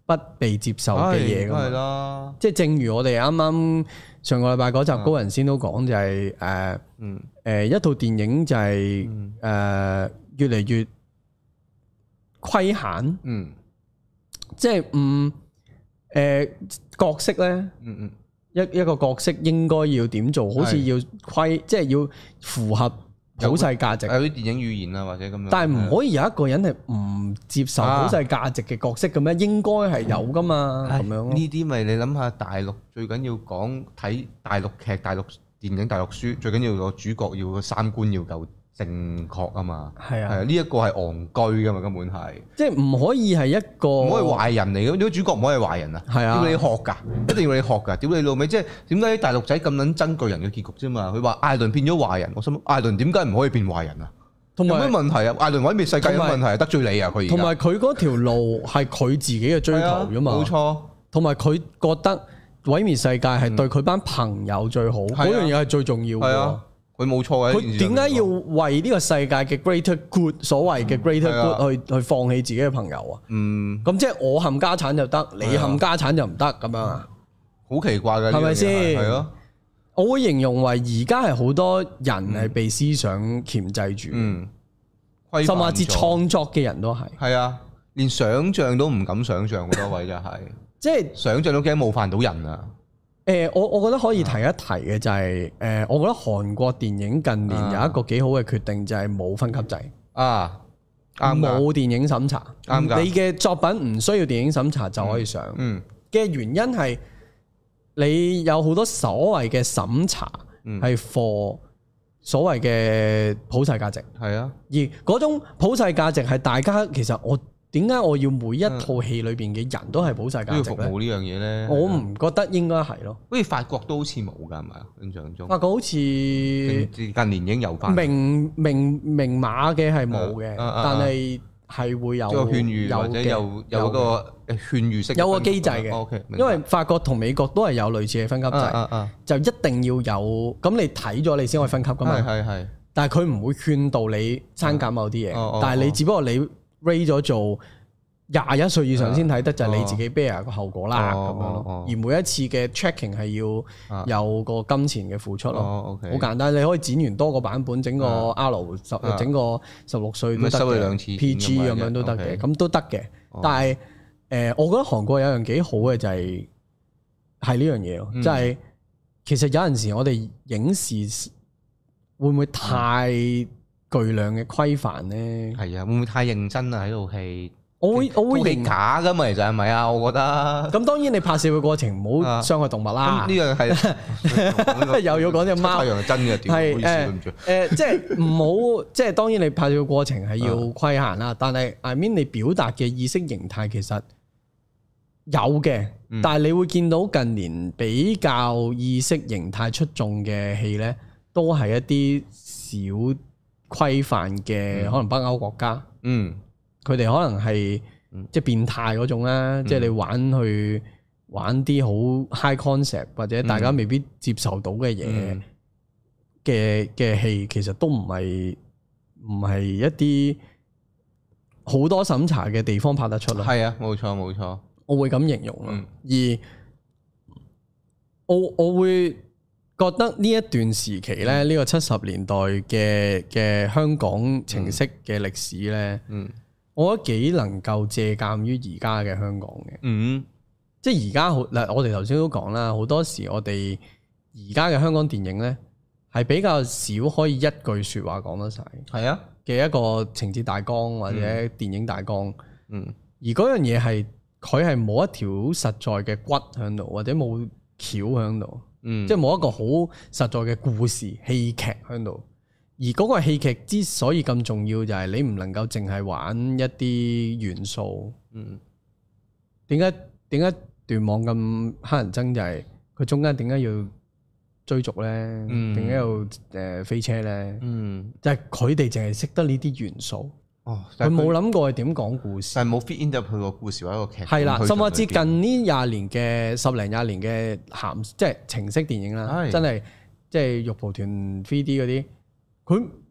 不被接受嘅嘢㗎嘛。即係正如我哋啱啱上個禮拜嗰集高人先都講，就係誒誒一套電影就係、是、誒、呃、越嚟越規限，嗯，即係唔誒角色咧，嗯嗯，一一個角色應該要點做，好似要規，即係要符合普世價值， 有啲電影語言啊或者咁樣。 但係唔可以有一個人係唔接受普世價值嘅角色嘅咩？應該係有噶嘛，咁樣。呢啲咪你諗下，大陸最緊要講睇大陸劇、大陸電影、大陸書，最緊要個主角要個三觀要夠正確啊嘛。係啊，係啊，呢一個係戇居噶嘛，根本係。即係唔可以係一個唔可以壞人嚟嘅，點解主角唔可以係壞人啊？係啊，要你學㗎，一定要你學㗎。屌你老味，即係點解大陸仔咁撚憎巨人嘅結局啫嘛？佢話艾倫變咗壞人，我心諗艾倫點解唔可以變壞人啊？有咩問題啊？艾倫毀滅世界有問題係得罪你啊？佢同埋佢嗰條路係佢自己嘅追求㗎嘛？ 冇錯。同埋佢覺得毀滅世界係對佢班朋友最好，嗰樣嘢係最重要嘅。 佢冇錯嘅。 佢點解要為呢個世界嘅 greater good，所謂嘅 greater good 去去放棄自己嘅朋友啊？嗯。咁即係我冚家產就得，你冚家產就唔得咁樣啊？ 好奇怪嘅， 係咪先？ 係咯。 我會形容為而家係好多人係被思想鉗制住，嗯，甚至創作嘅人都係。 係啊，連想像都唔敢想像，好多位就係，即係想像都驚冒犯到人啊！ 誒，我我覺得可以提一提嘅就係，誒，我覺得韓國電影近年有一個幾好嘅決定，就係冇分級制啊，冇電影審查，啱㗎，你嘅作品唔需要電影審查就可以上，嗯，嘅原因係你有好多所謂嘅審查係 for 所謂嘅普世價值，係啊，而嗰種普世價值係大家其實我。點解我要每一套戲裏邊嘅人都係普世價值咧？ 服務呢樣嘢咧， 我唔覺得應該係咯。 好似法國都好似冇㗎，係咪啊？印象中法國好似近年已經有翻明明明碼嘅係冇嘅，但係係會有勸喻或者有有嗰個勸喻式有個機制嘅。因為法國同美國都係有類似嘅分級制，就一定要有咁你睇咗你先可以分級㗎嘛。係係。但係佢唔會勸導你刪減某啲嘢，但係你只不過你。rate 咗做廿一歲以上先睇得，就係你自己 bear 個後果啦，咁樣咯。而每一次嘅 checking 係要有個金錢嘅付出咯，好簡單。你可以剪完多個版本，整個 R 十，整個十六歲都得嘅 P G 咁樣都得嘅，咁都得嘅。但係誒，我覺得韓國有樣幾好嘅就係係呢樣嘢咯，即係其實有陣時我哋影視會唔會太巨量嘅規範咧？係啊，會唔會太認真啊？喺套戲， 我會我會認假噶嘛，其實係咪啊？我覺得。 咁當然你拍攝嘅過程唔好傷害動物啦。呢樣係又要講隻貓。 太陽係真嘅，係誒誒，即係唔好，即係當然你拍攝嘅過程係要規限啦。但係 I mean 你表達嘅意識形態其實有嘅，但係你會見到近年比較意識形態出眾嘅戲咧，都係一啲小規範嘅，可能北歐國家，嗯，佢哋可能係即係變態嗰種啦，即係你玩去玩啲好 high concept 或者大家未必接受到嘅嘢嘅嘅戲，其實都唔係唔係一啲好多審查嘅地方拍得出咯。 係啊，冇錯冇錯， 我會咁形容咯。嗯、而我我會。覺得呢一段時期咧，呢、嗯、個七十年代嘅嘅香港情色嘅歷史咧，嗯，我覺得幾能夠借鑑於而家嘅香港嘅，嗯，即係而家好嗱，我哋頭先都講啦，好多時我哋而家嘅香港電影咧，係比較少可以一句說話講得晒，係啊嘅一個情節大綱或者電影大綱，嗯，而嗰樣嘢係佢係冇一條實在嘅骨喺度，或者冇橋喺度。嗯，即係冇一個好實在嘅故事戲劇喺度，而嗰個戲劇之所以咁重要，就係你唔能夠淨係玩一啲元素。嗯，點解點解斷網咁乞人憎？就係佢中間點解要追逐咧？點解、嗯、要誒飛車咧？嗯，就係佢哋淨係識得呢啲元素。哦，佢冇諗過係點講故事， 但係冇 fit into 佢個故事或者個劇。 係啦，甚至近呢廿年嘅十零廿年嘅鹹即係情色電影啦，的真係即係玉蒲團 three D 嗰啲，佢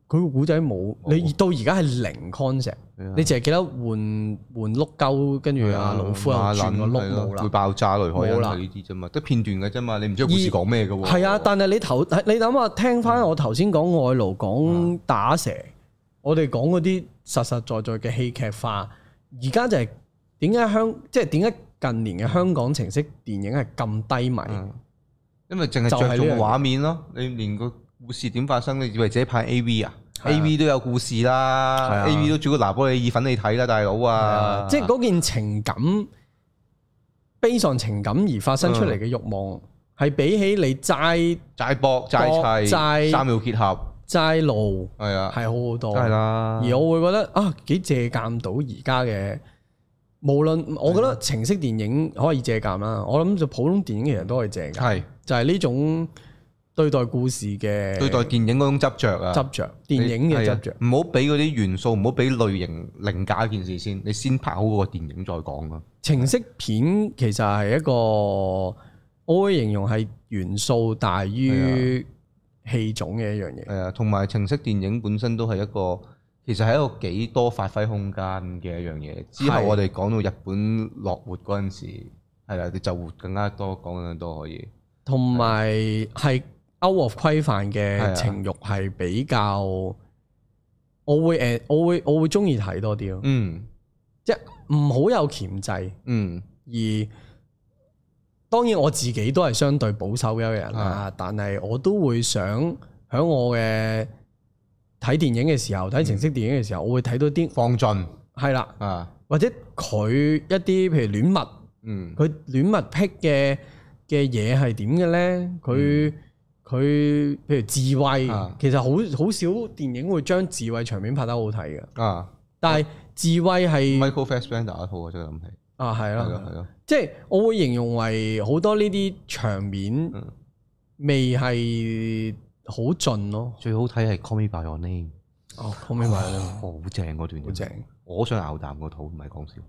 佢個古仔冇，你到而家係零 concept，你淨係記得換換碌鳩，跟住阿老夫又轉個碌冇啦， 會爆炸雷海印呢啲啫嘛，得片段嘅啫嘛，你唔知故事講咩嘅喎。 係啊，但係你頭你諗下，聽翻我頭先講外勞講打蛇，我哋講嗰啲實實在在嘅戲劇化，而家就係點解香即係點解近年嘅香港情色電影係咁低迷？ 因為淨係着重畫面咯，你連個故事點發生？你以為自己拍 A V 啊？A V 都有故事啦 ，A V 都煮個拿波里意粉你睇啦，大佬啊！ 即係嗰件情感，悲傷情感而發生出嚟嘅慾望，係比起你齋齋搏齋砌齋三秒結合齋路係啊， 係好好多。 係啦， 而我會覺得啊，幾借鑑到而家嘅，無論我覺得情色電影可以借鑑啦，我諗就普通電影其實都可以借鑑，係就係呢種。對待故事嘅對待電影嗰種執着啊， 執着電影嘅執着， 唔好俾嗰啲元素，唔好俾類型凌駕一件事先，你先拍好嗰個電影再講啊。 情色片其實係一個，我會形容係元素大於戲種嘅一樣嘢。係啊， 同埋情色電影本身都係一個，其實係一個幾多發揮空間嘅一樣嘢。之後我哋講到日本落活嗰陣時，係啦，你就活更加多，講更加多可以。 同埋係。Out of 規範嘅情慾係比較，我會誒，我會我會中意睇多啲咯。嗯，即係唔好有鉗制。嗯，而當然我自己都係相對保守嘅一個人啦，但係我都會想喺我嘅睇電影嘅時候，睇情色電影嘅時候，我會睇到啲放盡。 係啦，啊，或者佢一啲譬如戀物，嗯，佢戀物癖嘅嘅嘢係點嘅咧？佢佢譬如自慰，啊、其實好好少電影會將自慰場面拍得好睇嘅。啊，但係自慰係 Michael Fassbender 一套我真係諗起。 啊，係咯，係咯，即係我會形容為好多呢啲場面未係好盡咯。 最好睇係 Call Me By Your Name。 哦，Call Me By Your Name， 好正嗰段，好正。我想咬啖個肚，唔係講笑。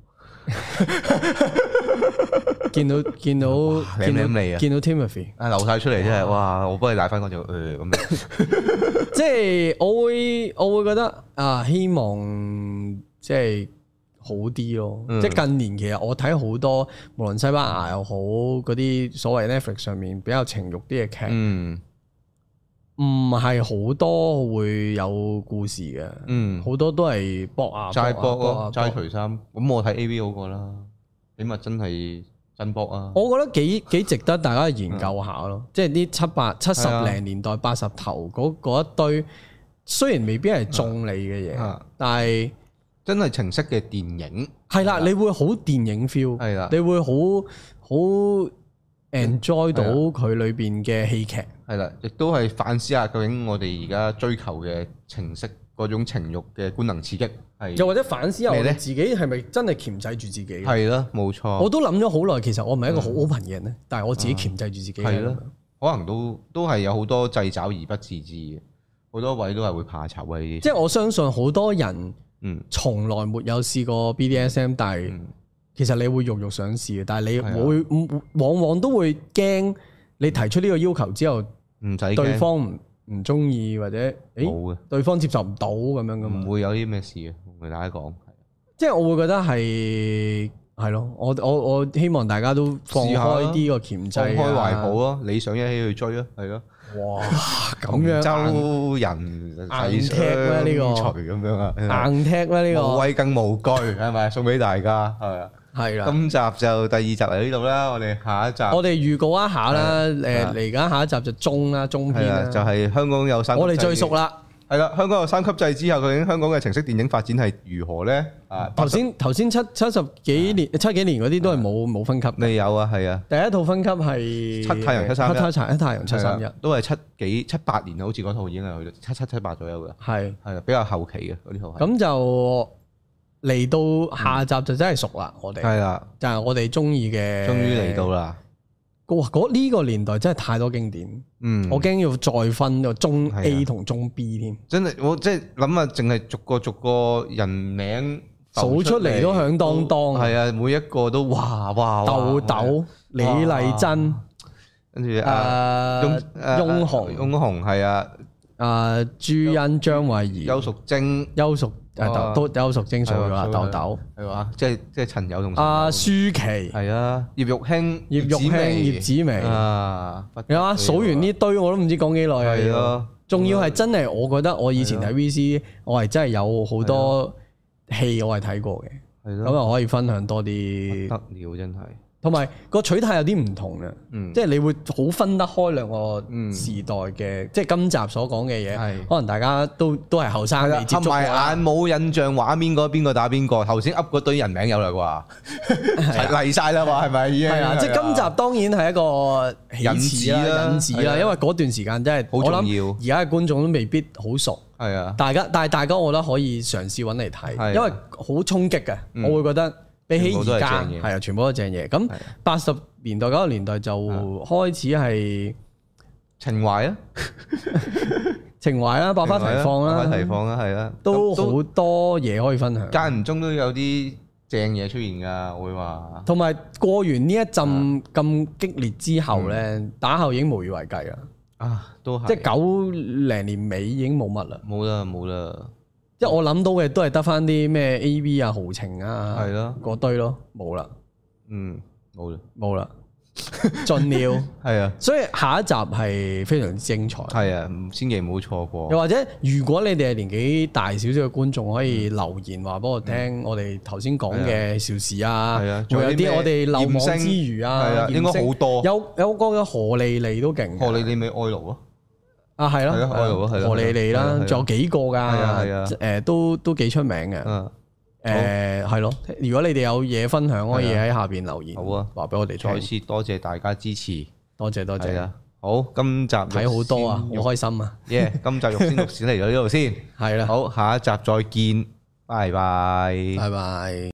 見到見到舐舐脷啊！ 見到 Timothy 啊流晒出嚟真係哇！我幫你舐翻嗰條誒咁樣。 即係我會我會覺得啊，希望即係好啲咯。嗯、即係近年其實我睇好多，無論西班牙又好，嗰啲所謂 Netflix 上面比較情慾啲嘅劇，嗯，唔係好多會有故事嘅，嗯，好多都係搏啊， 齋搏咯，齋除衫。咁我睇 A V 好過啦，起碼真係。真搏啊！ 我覺得幾幾值得大家研究下咯，即係啲七八七十零年代八十頭嗰一堆，雖然未必係中你嘅嘢，但係真係情色嘅電影係啦，你會好電影 feel，係啦，你會好好 enjoy 到佢裏邊嘅戲劇， 係啦，亦都係反思下究竟我哋而家追求嘅情色嗰種情慾嘅官能刺激。 又或者反思下我哋自己係咪真係鉗制住自己？ 係咯，冇錯。 我都諗咗好耐，其實我唔係一個好 open 嘅人咧，嗯、但係我自己鉗制住自己。係咯， 可能都都係有好多掣肘而不自知嘅，好多位都係會怕醜嘅呢啲。 即係我相信好多人，嗯，從來沒有試過 B D S M，、嗯、但係其實你會肉肉想試嘅，但係你會、嗯、往往都會驚你提出呢個要求之後，唔使對方唔唔中意或者誒，對方接受唔到咁樣噶嘛？ 唔會有啲咩事嘅。同大家講， 即係我會覺得係係咯，我我我希望大家都放開啲個鉗制，放開懷抱咯，理想一起去追咯，係咯。哇，咁樣周人硬踢咧呢個， 咁樣啊， 硬踢咧呢個， 無畏更無懼，係咪？送俾大家，係啊， 係啦。 今集就第二集嚟呢度啦，我哋下一集， 我哋預告一下啦，誒嚟緊下一集就中啦，中篇啦， 就係香港有三， 我哋最熟啦。 係啦，香港有三級制之後，究竟香港嘅情色電影發展係如何咧？啊， 頭先頭先七七十幾年、七幾年嗰啲都係冇冇分級。 未有啊，係啊。 第一套分級係七太陽七三一， 黑太太陽七三一， 都係七幾七八年啊，好似嗰套已經係去到七七七八左右嘅。係係啊，比較後期嘅嗰啲套。咁就嚟到下集就真係熟啦，我哋係啦，就係我哋中意嘅。 終於嚟到啦！ 哇！嗰呢個年代真係太多經典，嗯，我驚要再分個中 A 同中 B 添。 真係我即係諗下，淨係逐個逐個人名數出嚟都響當當。 係啊，每一個都哇哇！ 豆豆、李麗珍， 跟住啊，翁翁虹，翁虹係啊， 啊朱茵、張慧儀、 邱淑貞、 邱淑誒都邱淑貞數咗啦，豆豆係嘛？即係即係陳友同阿舒淇係啊，葉玉卿、 葉玉卿、葉子楣啊，有啊！數完呢堆我都唔知講幾耐啊！係咯，仲要係真係，我覺得我以前睇 V C，我係真係有好多戲我係睇過嘅，咁啊可以分享多啲。得了，真係。同埋個取態有啲唔同嘅，嗯、即係你會好分得開兩個時代嘅，嗯、即係今集所講嘅嘢，是可能大家都都係後生未接觸過，合埋眼冇印象畫面嗰邊個打邊個，頭先噏嗰堆人名有啦啩，嚟晒啦嘛，係咪已經？係啊， 即係今集當然係一個引子啦，引子啦，因為嗰段時間真係好重要，而家嘅觀眾都未必好熟，係啊，大家但係大家我覺得可以嘗試揾嚟睇，的因為好衝擊嘅，嗯、我會覺得。比起而家係啊，全部都係正嘢。咁八十年代九十年代就開始係情懷啊， 情懷啦，百花齊放啦， 百花齊放啦，係啦， 都好多嘢可以分享。 間唔中都有啲正嘢出現㗎，會話。同埋過完呢一陣咁激烈之後咧，嗯、打後已經無以為繼啦。 啊，都係。即係九零年尾已經冇乜啦。 冇啦，冇啦。 即係我諗到嘅都係得翻啲咩 A V 啊、豪情啊，係咯，嗰堆咯，冇啦， 嗯，冇啦， 冇啦，盡了，係啊，所以下一集係非常之精彩， 係啊，千祈唔好錯過。 又或者如果你哋係年紀大少少嘅觀眾，可以留言話俾我聽，我哋頭先講嘅邵氏啊，係啊，仲有啲我哋漏網之魚啊， 係啊，應該好多， 有有個嘅何莉莉都勁， 何莉莉咪愛奴咯。 啊，係咯，荷里利啦，仲有幾個噶，誒都都幾出名嘅。誒係咯，如果你哋有嘢分享，可以喺下邊留言。好啊，話俾我哋聽。 再次多謝大家支持， 多謝多謝。 好，今集睇好多啊，好開心啊。 耶，今集肉先錄先嚟到呢度先。係啦，好，下一集再見，拜拜， 拜拜。